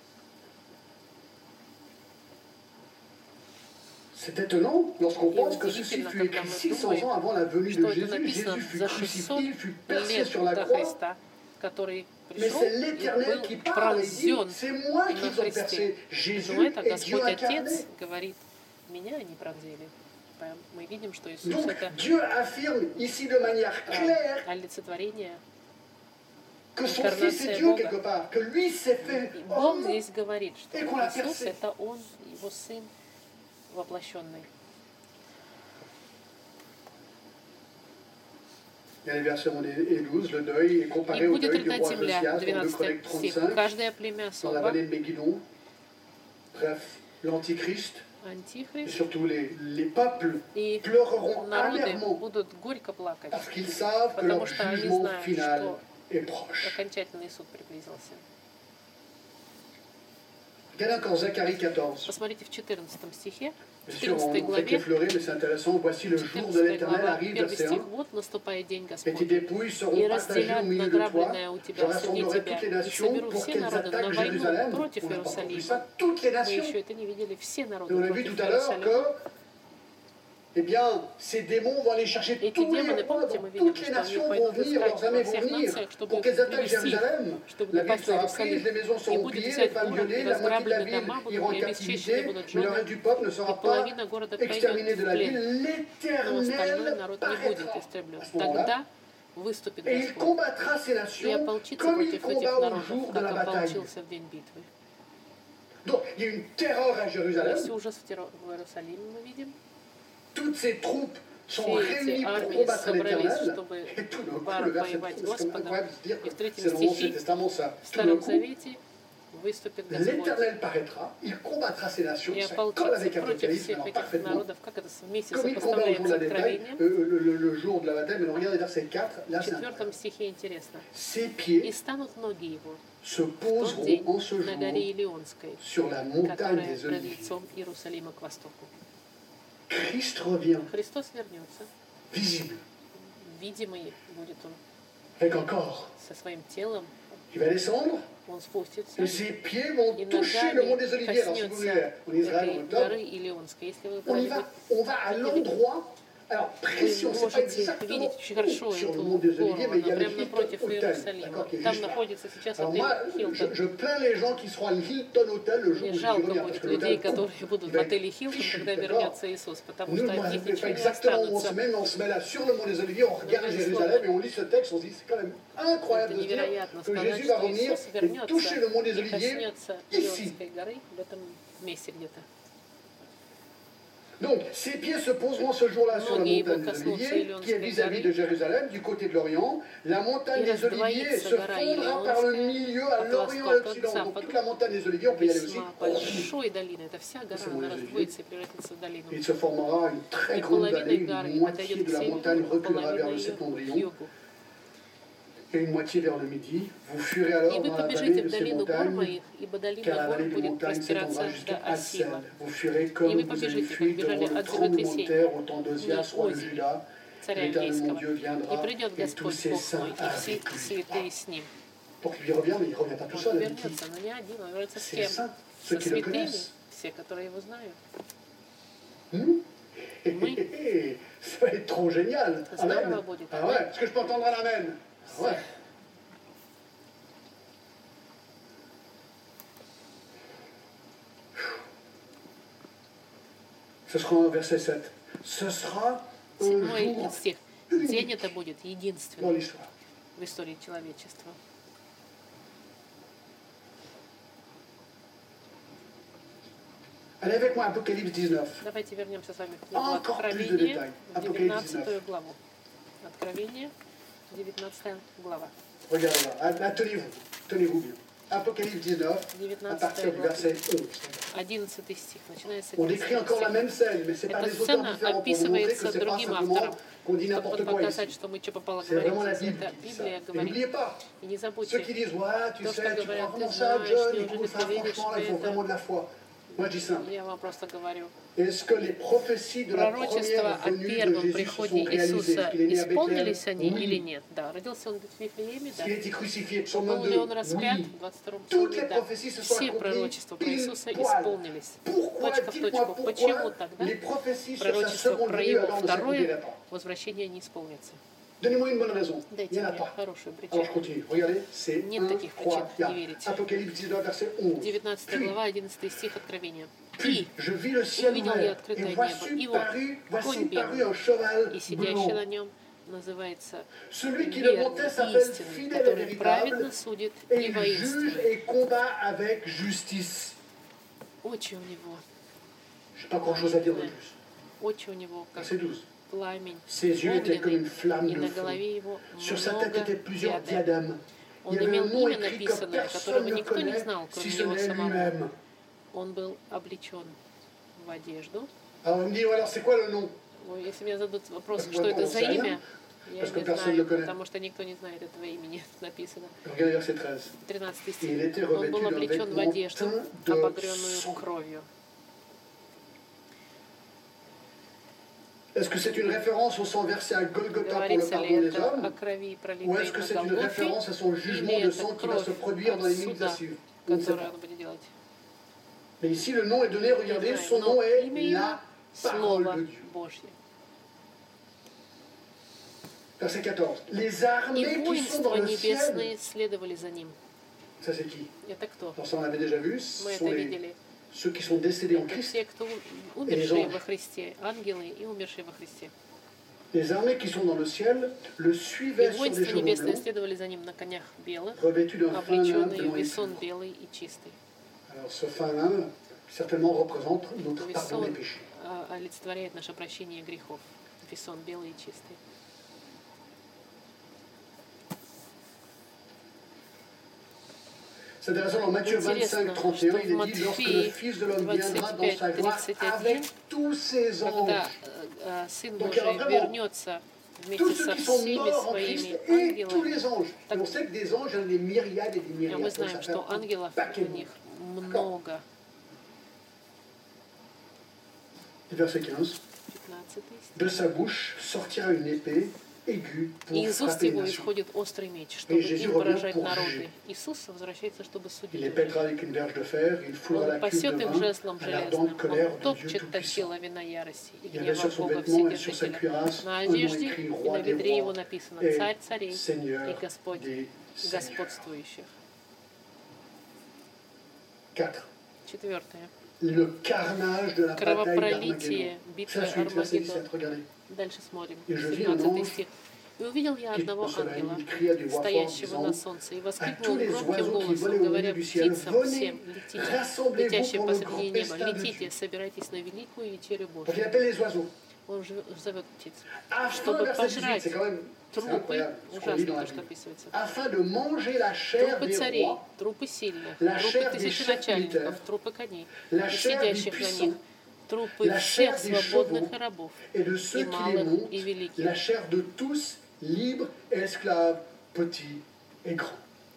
C'est étonnant lorsqu'on Et pense que ceci удивительно, fut écrit когда мы 600 думаем, ans avant la venue de что это Jésus. написано Jésus fut за 600 crucifié, il fut percé лет sur la до croix. Христа, который Mais пришел c'est и l'Éternel qui был parle et dit, пронзен c'est moi на qu'ils ont Христе. percé. Jésus Но это est Dieu Господь incarné. Отец говорит, меня они пронзили. Мы видим, что Иисус Donc это Dieu affirme ici de manière claire олицетворение. que son Fils est Dieu quelque part, que lui s'est fait И Бог homme. здесь говорит, что Et qu'on l'a Иисус percé. это Он, Его Сын воплощенный. Il y a les versets 11 et 12, le deuil est comparé И au будет deuil du рыдать roi земля, Josias dans 2 12 Chroniques стих. 35, Каждое племя dans la особо, vallée de Megiddo. Bref, l'Antichrist et Антихрист, surtout les peuples и pleureront народы amèrement будут горько плакать, parce qu'ils savent que потому leur что они jugement знают, final что est proche. окончательный суд приблизился. Regardez encore Zacharie 14. Посмотрите в 14 стихе, в Bien sûr, 14 on fait главе, qu'effleurer, mais c'est intéressant. Voici le jour de 14 l'Éternel глава, arrive, первый verset стих, 1. вот наступает день Et tes Господень, dépouilles seront и partagées au разделят milieu de toi. награбленное у Je тебя среди rassemblerai тебя, toutes les и nations соберу pour все qu'elles народы на attaquent войну Jérusalem. против On n'a pas compris Иерусалима. ça. Toutes les Мы nations. еще это не видели, все Et народы on a vu против tout à l'heure Иерусалима. que eh bien, ces démons vont aller chercher Эти tous les демоны, rois помните, dans мы видели, toutes les что они nations vont пойдут venir, leurs искать armées во vont всех venir нациях, чтобы pour qu'elles attaquent привести, Jérusalem. чтобы La ville напасть на sera prise, Иерусалим. les maisons И seront будет pillées, les взять femmes город, violées, и la moitié de la разграблены ville дома будут, ira en и обесчищены captivité, будут mais le жены, reste du peuple ne и sera pas половина города exterminé пойдет de в la плен. ville. Но остальной L'Éternel народ не будет paraîtra истреблен. à ce moment-là. Тогда выступит Et il Господь combattra ces и nations ополчится comme il против этих combat au народов, jour de как la bataille. ополчился в день битвы. Donc, il y a une terreur à Jérusalem. Есть ужас в Иерусалиме, мы видим. Toutes ces troupes sont Все réunies эти pour армии combattre собрались, l'Éternel. чтобы Et tout d'un coup, le verset 3, воевать c'est comme Господом. incroyable de se dire И que в третьем c'est dans l'Ancien стихе Testament ça. в Tout d'un Старом coup, Завете выступит Господь l'Éternel paraîtra, il combattra ces nations. и Ça colle ополчится avec против Apocalypse, всех alors этих parfaitement. народов, как это вместе Comme il combat au jour de сопоставляется la bataille, откровением. le jour de la bataille, mais regardez verset 4, là В c'est 4 стихе интересно. Ses И pieds станут ноги его se в тот poseront день en ce на горе jour Илионской, sur la montagne которая des пред Oliviers. лицом Иерусалима к востоку. Christ revient, Христос вернется, visible, видимый будет он avec un corps. со своим телом, Il va descendre он спустится, et ses pieds vont и toucher le mont des ногами Oliviers. Alors si vous voulez, коснется en Israël en этой octobre, горы Илионской. Если вы on y va, on va à l'endroit. Alors précis, on ne sait pas можете exactement видеть очень хорошо où sur эту le mont des гору, Oliviers, mais il y она a le прямо Hilton напротив Hotel, Иерусалима. d'accord, qui est Там juste là. находится сейчас Alors отель moi, Хилтон. je plains les gens qui seront à l'Hilton Hotel le jour où Мне Jésus жалко revient, parce будет que людей, l'hôtel, которые будут il в va отеле être Хилтон, fichu, когда d'accord. вернется Иисус, потому Nous, что moi, от них c'est pas ничего не exactement où on se останется. met, mais on se met là sur le mont des Oliviers, on regarde Другими Jérusalem словами, et on lit ce texte, on se dit c'est quand même incroyable Это de se dire невероятно que сказать, Jésus va что revenir Иисус et toucher вернется le mont des и Oliviers коснется ici. Илионской горы в этом месте где-то. Donc, ses pieds se poseront ce jour-là sur la Ноги montagne его des коснутся Oliviers, qui est Илионской vis-à-vis горы, de Jérusalem, du côté de l'Orient. La montagne и des Oliviers раздвоится se гора fondra par le Илионская milieu à от l'Orient et à востока к l'Occident. Donc, западу. toute la montagne des Oliviers, on peut y aller aussi. Весьма большой долины. Это вся гора, C'est она mon раздвоится и превратится в долину. Il se formera une très И grande половина vallée, горы une moitié отойдет de к la montagne северу, а reculera vers половина le ее к septentrion, югу. et une moitié vers le midi. Vous fuirez И alors вы dans la vallée побежите de в ces долину гор montagnes, моих, ибо долина car la гор vallée des будет montagnes простираться s'étendra до jusqu'à Ассила. Hatsel. Vous fuirez comme И вы vous avez побежите, как fui бежали devant le от tremblement de землетрясения, terre au temps d'Osias, roi de Ози, Juda. царя L'Éternel mon иудейского. Dieu И viendra, придет et tous Господь ses Бог saints мой, и все avec lui. святые с ним. Pour qu'il revienne, mais il ne revient pas tout Он seul, avec qui? вернется, но не один, он вернется с Ses кем? saints, ceux Со qui le святыми, connaissent. все, которые его знают. Ça va être trop génial. Amen. Ah ouais, est-ce que je peux entendre un amen? Ah ouais. Ce sera un verset 7. Ce sera un jour стих. День это будет dans единственный l'histoire. в истории человечества. Allez avec moi, Apocalypse 19. Давайте вернемся с вами в книгу Encore plus de Откровение, détails. в Apocalypse 19 19. главу. Откровение, 19 глава. Regardez là, tenez-vous bien. Apocalypse 19, à partir du verset 11. 11 stих, начинается On décrit encore la même scène, mais ce n'est pas Эта des auteurs сцена différents pour vous montrer que описывается ce n'est pas другим simplement автором, qu'on dit чтобы n'importe quoi показать, ici. что мы что попало C'est vraiment la говорим. Bible Это qui dit ça. Библия Et n'oubliez говорит. pas, И не ceux забудьте, qui disent ouais, tu то, что sais, tu говорят, crois ты vraiment ça, знаешь, John, неужели écoute ты ça, веришь franchement, в là, il faut это? vraiment de la foi. Moi, je dis simple. Я вам просто говорю. Est-ce que les prophéties de la Пророчества première о venue de первом Jésus se приходе sont réalisées? Иисуса Est-ce qu'il est né à Bethléem? исполнились они или Oui. нет? Да. Родился он в Вифлееме, Est-ce да. qu'il a été crucifié? Psaume Был ли 22? он распят? Oui. В 22-м Toutes псалме, les да. prophéties se sont Все accomplies пророчества про pile Иисуса poil. исполнились. Pourquoi, Точка в dites-moi точку. Почему pourquoi тогда les prophéties sur sa пророчества seconde про venue его alors ne s'accompliraient второе pas? возвращение не исполнится? Donnez-moi une bonne raison. Il Дайте n'y en a мне pas. хорошую Alors je причину. continue. Regardez, c'est Нет 1, таких 3, причин 4. не верить. Apocalypse 19, verset 11. 19 Puis, глава, 11 стих Откровения. puis, je vis le ciel увидел я ouvert, открытое et небо, voici и вот parut конь белый, un cheval и сидящий на blanc. нем называется Celui qui le верный montait и s'appelle истинный, fidèle et который véritable, праведно судит et и il juge воинствует. et combat avec justice. Очи у него, Je n'ai pas grand-chose à dire de plus. очи у него как Verset 12. пламень Ses yeux étaient comme une огненный, flamme и de на feu. голове его Sur sa tête много étaient plusieurs диадем. diadèmes. Он Il y avait имел un nom имя écrit que написанное, personne которого ne никто не connaît, знал, si кроме ce него n'est самого. lui-même. Он был облечен в одежду. Alors on me dit, alors c'est quoi le nom? Ой, если меня зададут вопрос, Parce что qu'on это за sait rien, имя, я parce que не personne ne знаю, le connaît. потому что никто не знает этого имени, написано. Regardez verset 13. 13 Et стих. il était Он revêtu был d'un облечен в vêtement одежду, teint de обогренную sang. кровью. Est-ce que c'est une référence au sang versé à Golgotha pour le Говорится ли pardon des это о hommes? крови, Ou пролитой est-ce que на c'est une Голгофе, référence à son jugement или de это sang qui va se кровь produire dans от les minutes à суда, suivre? On ne sait которое pas. он будет делать? Mais ici, le nom est donné, regardez, son nom Но est имя его la parole Слово de Dieu. Божье. Verset 14. Les И armées qui sont воинства dans le ciel, небесные следовали за ним. ça c'est qui? Это кто? Alors ça on l'avait déjà vu, ce Мы sont это les, видели. ceux qui sont décédés en Это Christ. все, кто умершие во Христе, ангелы и умершие во Христе. Les armées qui sont dans le ciel le И suivaient sur des воинства chevaux небесные blancs, следовали за ним на конях белых, revêtus d'un fin lin облеченные blanc в et весон pur. белый и чистый. Alors ce fin lin certainement représente notre pardon des Весон péchés. олицетворяет наше прощение грехов. Весон белый и чистый. C'est intéressant, dans Matthieu 25, 31, il est dit, lorsque le Fils de l'homme viendra dans sa gloire avec tous ses anges, Когда Сын Donc, il y aura Божий vraiment вернется tous вместе ceux со qui sont всеми morts en Christ своими et tous ангелами. les anges. Et on sait que des anges, il y en a des myriades et des А myriades. мы Donc, ça знаем, fait что un ангелов paquet у de них monde. много. Et verset 15. 15 стих. De sa bouche sortira une épée aiguë И pour из уст frapper les его nations. исходит острый меч, чтобы Jésus им revient поражать pour народы. juger. Иисус возвращается, чтобы Il судить les их. pètera avec une verge de fer, il foulera Он la cuve пасет de их vin жезлом à l'ardente железным, colère он de Dieu топчет Tout-Puissant. точила вина ярости и Il y avait гнева sur son Бога vêtement et sur sa Вседержителя. cuirasse На un nom одежде écrit и Roi на des бедре его rois написано et «Царь царей» и Seigneur Господь des seigneurs. господствующих. 4. Четвертое. Le carnage de la bataille Кровопролитие d'Armageddon. битвы Ça suit, verset 17, Армагеддон. regardez. Дальше смотрим. И je vis un 17 ange стих. «И увидел я qui одного au soleil, ангела, il cria d'une voix forte, стоящего disant, на солнце, и à воскликнул tous les громким oiseaux qui голосом, volaient au говоря milieu du ciel, птицам venez, всем, летите, rassemblez-vous летящие pour le посреди grand неба, festin de летите, Dieu. собирайтесь на великую вечерю Donc Божью». il appelle les oiseaux. Он зовет птиц, Afin, чтобы verset 18, пожрать c'est quand même c'est трупы, incroyable ce qu'on lit ужасно dans la то, что Bible. описывается, Afin de manger la chair трупы des царей, rois, трупы сильных, la трупы chair des тысяченачальников, chefs трупы коней, la и chair des сидящих на puissants, них, трупы la всех chair des свободных chevaux и рабов, et de ceux и qui les малых, montent, и великих. la chair de tous, libres et esclaves, petits et grands.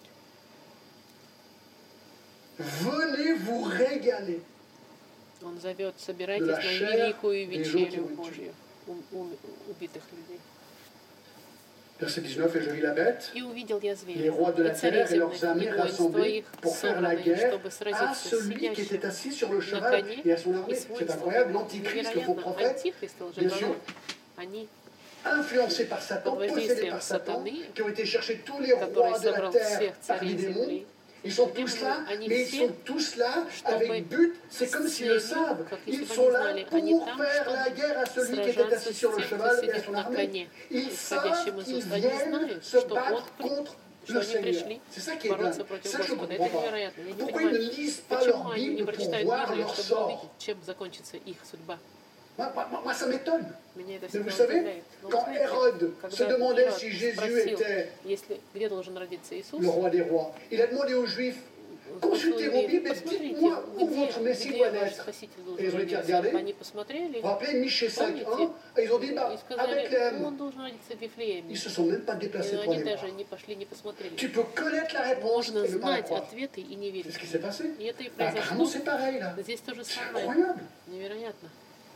Venez vous régaler. Он зовет, собирайтесь de la на chair великую des gens qui вечерю ont été Божью убитых людей. Verset 19, et je vis la bête, «И увидел я les зверя, rois de и la царей terre et leurs земных, и armées воинств rassemblés твоих, pour faire la собранных, guerre чтобы à сразиться с celui qui сидящим était assis sur le на cheval коне et à son и armée. с C'est воинством incroyable, его». l'antichrist, le faux Невероятно, prophète, антихрист и bien sûr, лжепророк, они influencés par Satan, под possédés воздействием par Satan, сатаны, qui ont été chercher tous les который rois de la собрал terre всех par des царей démons. земли, Ils sont демоны, tous là, они mais ils все, sont tous là чтобы avec but, c'est с comme s'ils le целью, savent. как если Ils бы sont они là знали, они pour там, faire la чтобы guerre à celui qui était сражаться assis с sur le тем, кто cheval et à сидит son на armée. коне, Ils исходящим savent из qu'ils уст. Они viennent знают, se что battre он contre что le они Seigneur. пришли C'est ça qui est бороться dingue. против Ça, je ne Господа. comprends Это pas. невероятно. Я не Pourquoi ils ne понимаю, lisent pas почему leur они не Bible pour прочитают voir Библию, leur чтобы sort? увидеть, чем закончится их судьба. Moi, ça m'étonne. Меня это Mais vous всегда savez, удивляет. Но quand знаете, Hérode se когда demandait Ирод si Jésus спросил, était если, где должен родиться Иисус, le roi des rois, il a demandé aux Juifs, спросил consultez vos евреев, Bibles et посмотрите, dites-moi où votre Messie где doit ваш naître. Спаситель Et ils должен ont été родиться. regardés. Они посмотрели, Vous vous rappelez, Michée 5.1, помните, et ils ont dit, и bah, à сказали, Bethléem. он должен родиться в Вифлееме. Ils se sont même pas déplacés Но pour они aller voir. даже не пошли, не посмотрели. Tu peux connaître la réponse Можно et ne pas la знать croire. ответы и не C'est верить. ce qui s'est passé. И это и Bah, apparemment, произошло. c'est pareil là. Здесь то же C'est самое. incroyable. Невероятно.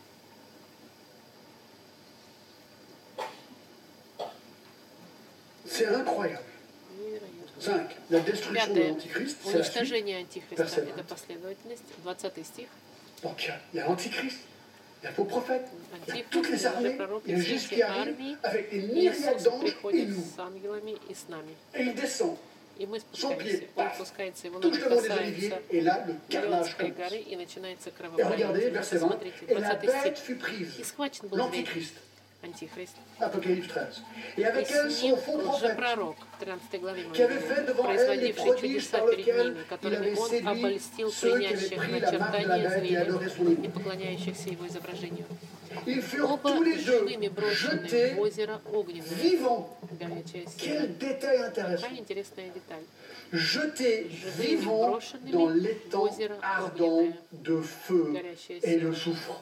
C'est incroyable. Невероятно. 5. La destruction de Пятое. l'Antichrist, c'est la suite. Уничтожение Антихриста. Verset Это 20. последовательность. 20 стих. Donc il y a l'Antichrist, il y a le faux prophète, il y a Антихрист, toutes les armées, лжепророк il y и a все Jésus эти qui arrive армии. avec des myriades Иисус d'anges et приходит nous. с ангелами и с нами. Et il descend, И мы son pied, спускаемся. Он paf, спускается, его touche ноги le mont des Oliviers, касаются et là le carnage Леонской commence. горы, и начинается Et regardez, кровопролитие. verset 20, Смотрите, et la 20 bête стих. fut prise, И схвачен был зверь, l'Antichrist, Антихрист. Apocalypse 13. Et И avec elle с ним son faux prophète, лжепророк, в 13 главе мы qui avait fait видим, devant elle les производивший prodiges чудеса par перед lesquels ними, il которыми avait он séduit обольстил ceux qui avaient принящих pris la marque de la начертание bête et зверя adoré son и image. поклоняющихся его изображению. Ils furent Оба tous les deux живыми брошены jetés в озеро огненное, vivants. горячее сила. Quel détail intéressant. Какая интересная деталь. Jetés Живыми vivants брошенными dans в l'étang озеро ardent огненное, de feu горящее et de сила. soufre.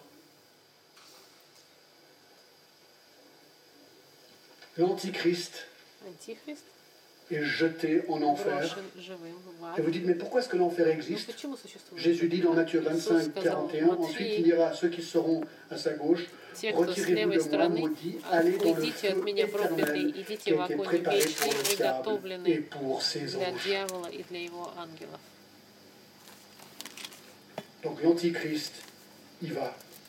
L'Antichrist Антихрист est jeté en enfer. брошен живым в ад. Et vous dites, mais pourquoi est-ce que l'enfer Но existe? почему существует Jésus dit dans Matthieu Иисус 25, сказал 41, ensuite il Матфею, dira à ceux qui seront à sa gauche, те, кто с retirez-vous левой de moi, стороны, maudits, allez dans le уйдите от feu меня, проклятые, éternel qui идите a в été огонь préparé pour вечный, le diable et приготовленный pour ses для anges. дьявола и для его ангелов. Donc l'Antichrist, il va.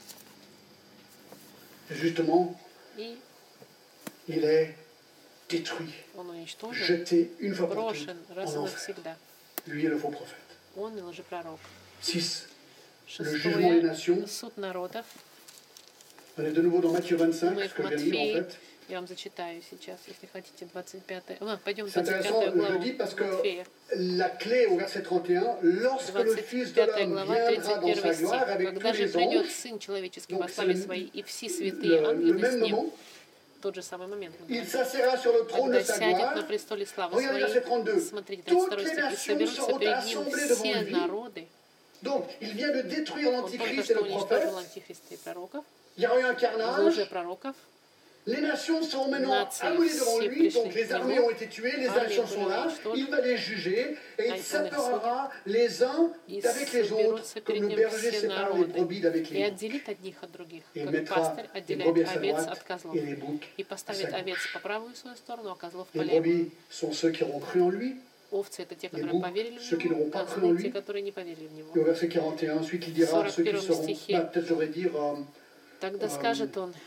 Et justement, И il est détruit, он уничтожен, jeté une fois pour toutes брошен раз и en enfer. навсегда. Lui est le faux prophète. Он и лжепророк. 6. Le jugement des Шестое. nations. Суд народов. On est de nouveau dans Matthieu 25, Мы ce в que je viens de lire en Матфея. fait. Я вам зачитаю сейчас, если хотите, 25. Пойдем в C'est intéressant, 25 je главу le dis parce que Матфея. la clé au verset 31, lorsque le Fils de 25 l'homme глава, viendra dans sa 31 стих. gloire avec Когда tous же les придет anges, Сын Человеческий donc во c'est славе Своей, и все святые le ангелы même с Ним, moment, тот же самый момент, il s'assiera sur le trône de когда sa сядет на gloire. престоле славы Regardez verset Своей, 32. смотрите, Toutes 32 les стих, и nations соберутся seront перед Ним assemblées devant все lui. народы. Donc, il vient de détruire Он только l'Antichrist et что le prophète. уничтожил антихриста и пророков, Il y aura eu un carnage. лжепророков. Les nations sont maintenant Нации amenées devant все lui, пришли donc les к armées нему, ont été tuées, les армии nations sont были là, уничтожены, il va les juger et il он их séparera les uns и avec les autres, соберутся comme перед le Ним berger все sépare les народы, brebis d'avec и les boucs. отделит одних от других, Et как mettra пастырь les отделяет brebis à sa овец droite от козлов, et les boucs и à поставит sa овец gauche. по правую свою сторону, а козлов по Les левую. brebis sont ceux qui auront cru en lui. Овцы — это те, Les которые boucs, поверили ceux в qui Него, n'auront pas cru en козлы — lui. те, которые не поверили в Него. Et au verset 41, ensuite il dira à ceux qui 41 seront, стихе. peut-être j'aurais dire, Тогда скажет Он,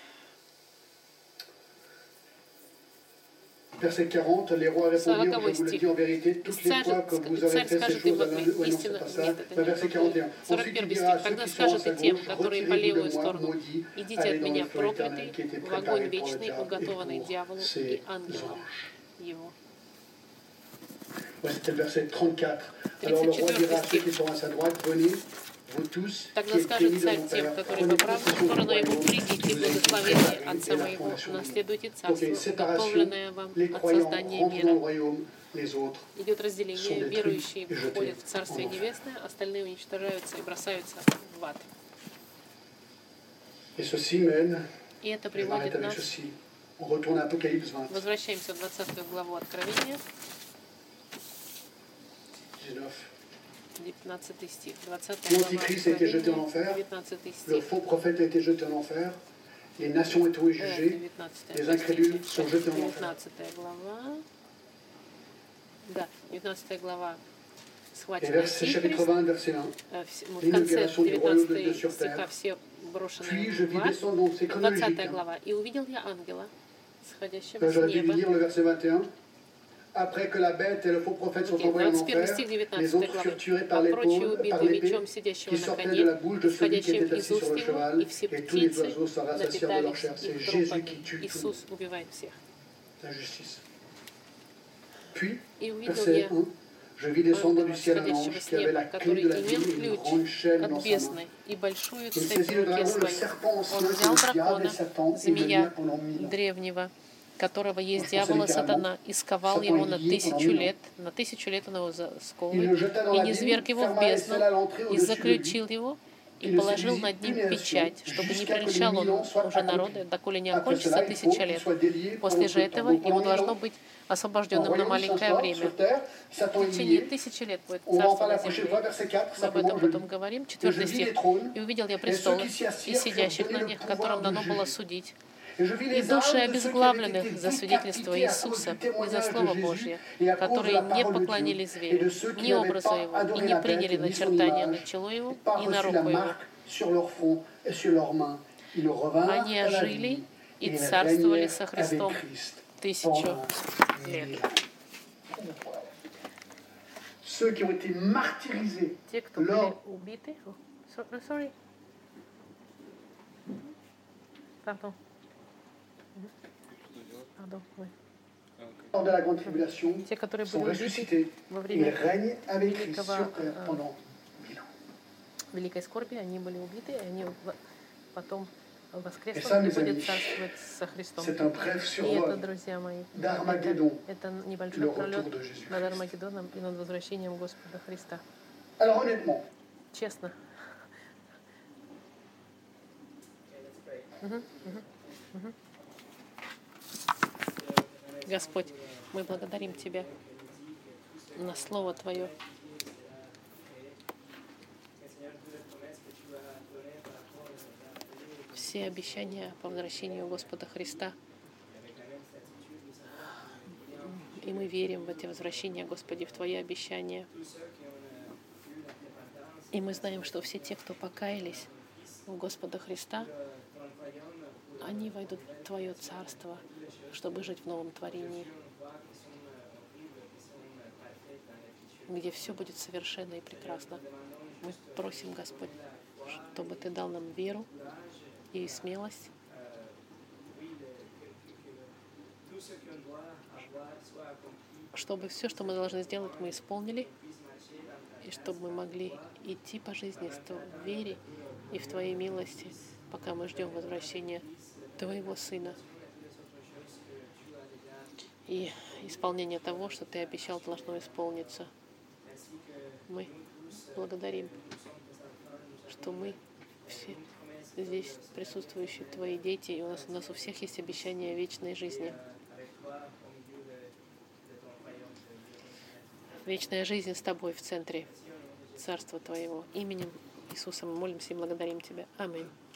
verset 40, les rois répondirent, 40 je vous le стих. dis en vérité, toutes les Царь fois que vous aurez fait ces скажет choses им à в l'un ответ, d'eux, ouais, non, c'est истинно, pas ça. нет, это Enfin, не verset то. 41. Ensuite 41 il dira à стих. ceux Тогда qui sont à скажет sa и тем, gauche, которые по retirez-vous левую de moi, сторону, maudits, идите allez от dans le меня, feu éternel проклятый, qui était в огонь préparé pour le вечный, diable et уготованный pour дьяволу и ses ангелам anges. его. Ouais, c'était le verset 34. Alors le roi dira à ceux qui sont à sa droite, venez, vous tous qui Тогда êtes скажет bénis de царь mon тем, Père, которые prenez по правую possession du сторону его, royaume придите, qui vous a été благословение préparé Отца dès la моего, fondation du monde. наследуйте Donc царство, une séparation, уготовленное вам les от croyants создания rentrent dans le мира. royaume, les autres Идет sont разделение, détruits верующие et jetés входят в Царствие en enfer. Небесное, остальные уничтожаются и бросаются в ад. Et ceci mène, И это je vais m'arrêter приводит avec нас, ceci, on retourne à Apocalypse 20, возвращаемся в 20 главу Откровения, 19. 19 стих, 20 глава L'Antichrist a été jeté en Откровения, enfer, 19 le стих. faux prophète a été jeté en enfer, Les nations étaient jugées, les incrédules sont jetés en enfer. 19 глава. Да, 19 глава. Et verset chapitre 20, verset 1. В конце 19 стиха все брошены в ад. 20 глава. «И увидел я ангела, сходящего с неба». Après que la bête et le faux prophète sont envoyés en enfer, les autres furent tués par l'épée qui sortait de la bouche de celui qui était assis sur le cheval, et tous les oiseaux s'en rassasièrent de leur chair. C'est Jésus qui tue tout le monde. La justice. Puis, verset 1, je vis descendre du ciel un ange qui avait la clé de la vie et une grande chaîne dans sa main. Il saisit le dragon, le serpent ancien, qui est le diable et Satan, et le lia pendant 1000 ans. Которого есть дьявол и сатана, и сковал его на 1000 лет. На 1000 лет он его сковывает, и низвергг его в бездну, и заключил его, и положил над ним печать, чтобы не прельщал он уже народы, доколе не окончится 1000 лет. После же этого ему должно быть освобожденным на маленькое время. В течение 1000 лет будет царство на земле. Мы об этом потом говорим. 4 стих. «И увидел я престолы, и сидящих на них, которым дано было судить, и души обезглавленных за свидетельство Иисуса и за Слово Божье, которые не поклонились зверю, ни образу его, и не приняли начертания на чело его и на руку его. Они ожили и царствовали со Христом 1000 лет». Те, кто были убиты... Pardon. Lors de la grande tribulation, sont ressuscités et règnent avec Christ sur terre pendant 1000 ans. Великой скорби они были убиты, и они потом воскреснут и будут царствовать со Христом. C'est un bref И это, survol друзья мои, d'Armageddon, это небольшой пролет над Армагеддоном и над возвращением Господа Христа. Alors honnêtement, Честно. Господь, мы благодарим Тебя на Слово Твое. Все обещания по возвращению Господа Христа. И мы верим в эти возвращения, Господи, в Твои обещания. И мы знаем, что все те, кто покаялись в Господа Христа, они войдут в Твое Царство, чтобы жить в новом творении, где все будет совершенно и прекрасно. Мы просим, Господь, чтобы Ты дал нам веру и смелость, чтобы все, что мы должны сделать, мы исполнили, и чтобы мы могли идти по жизни в вере и в Твоей милости, пока мы ждем возвращения Твоего Сына и исполнение того, что Ты обещал, должно исполниться. Мы благодарим, что мы все здесь присутствующие Твои дети, и у нас у всех есть обещание вечной жизни. Вечная жизнь с Тобой в центре Царства Твоего. Именем Иисуса мы молимся и благодарим Тебя. Аминь.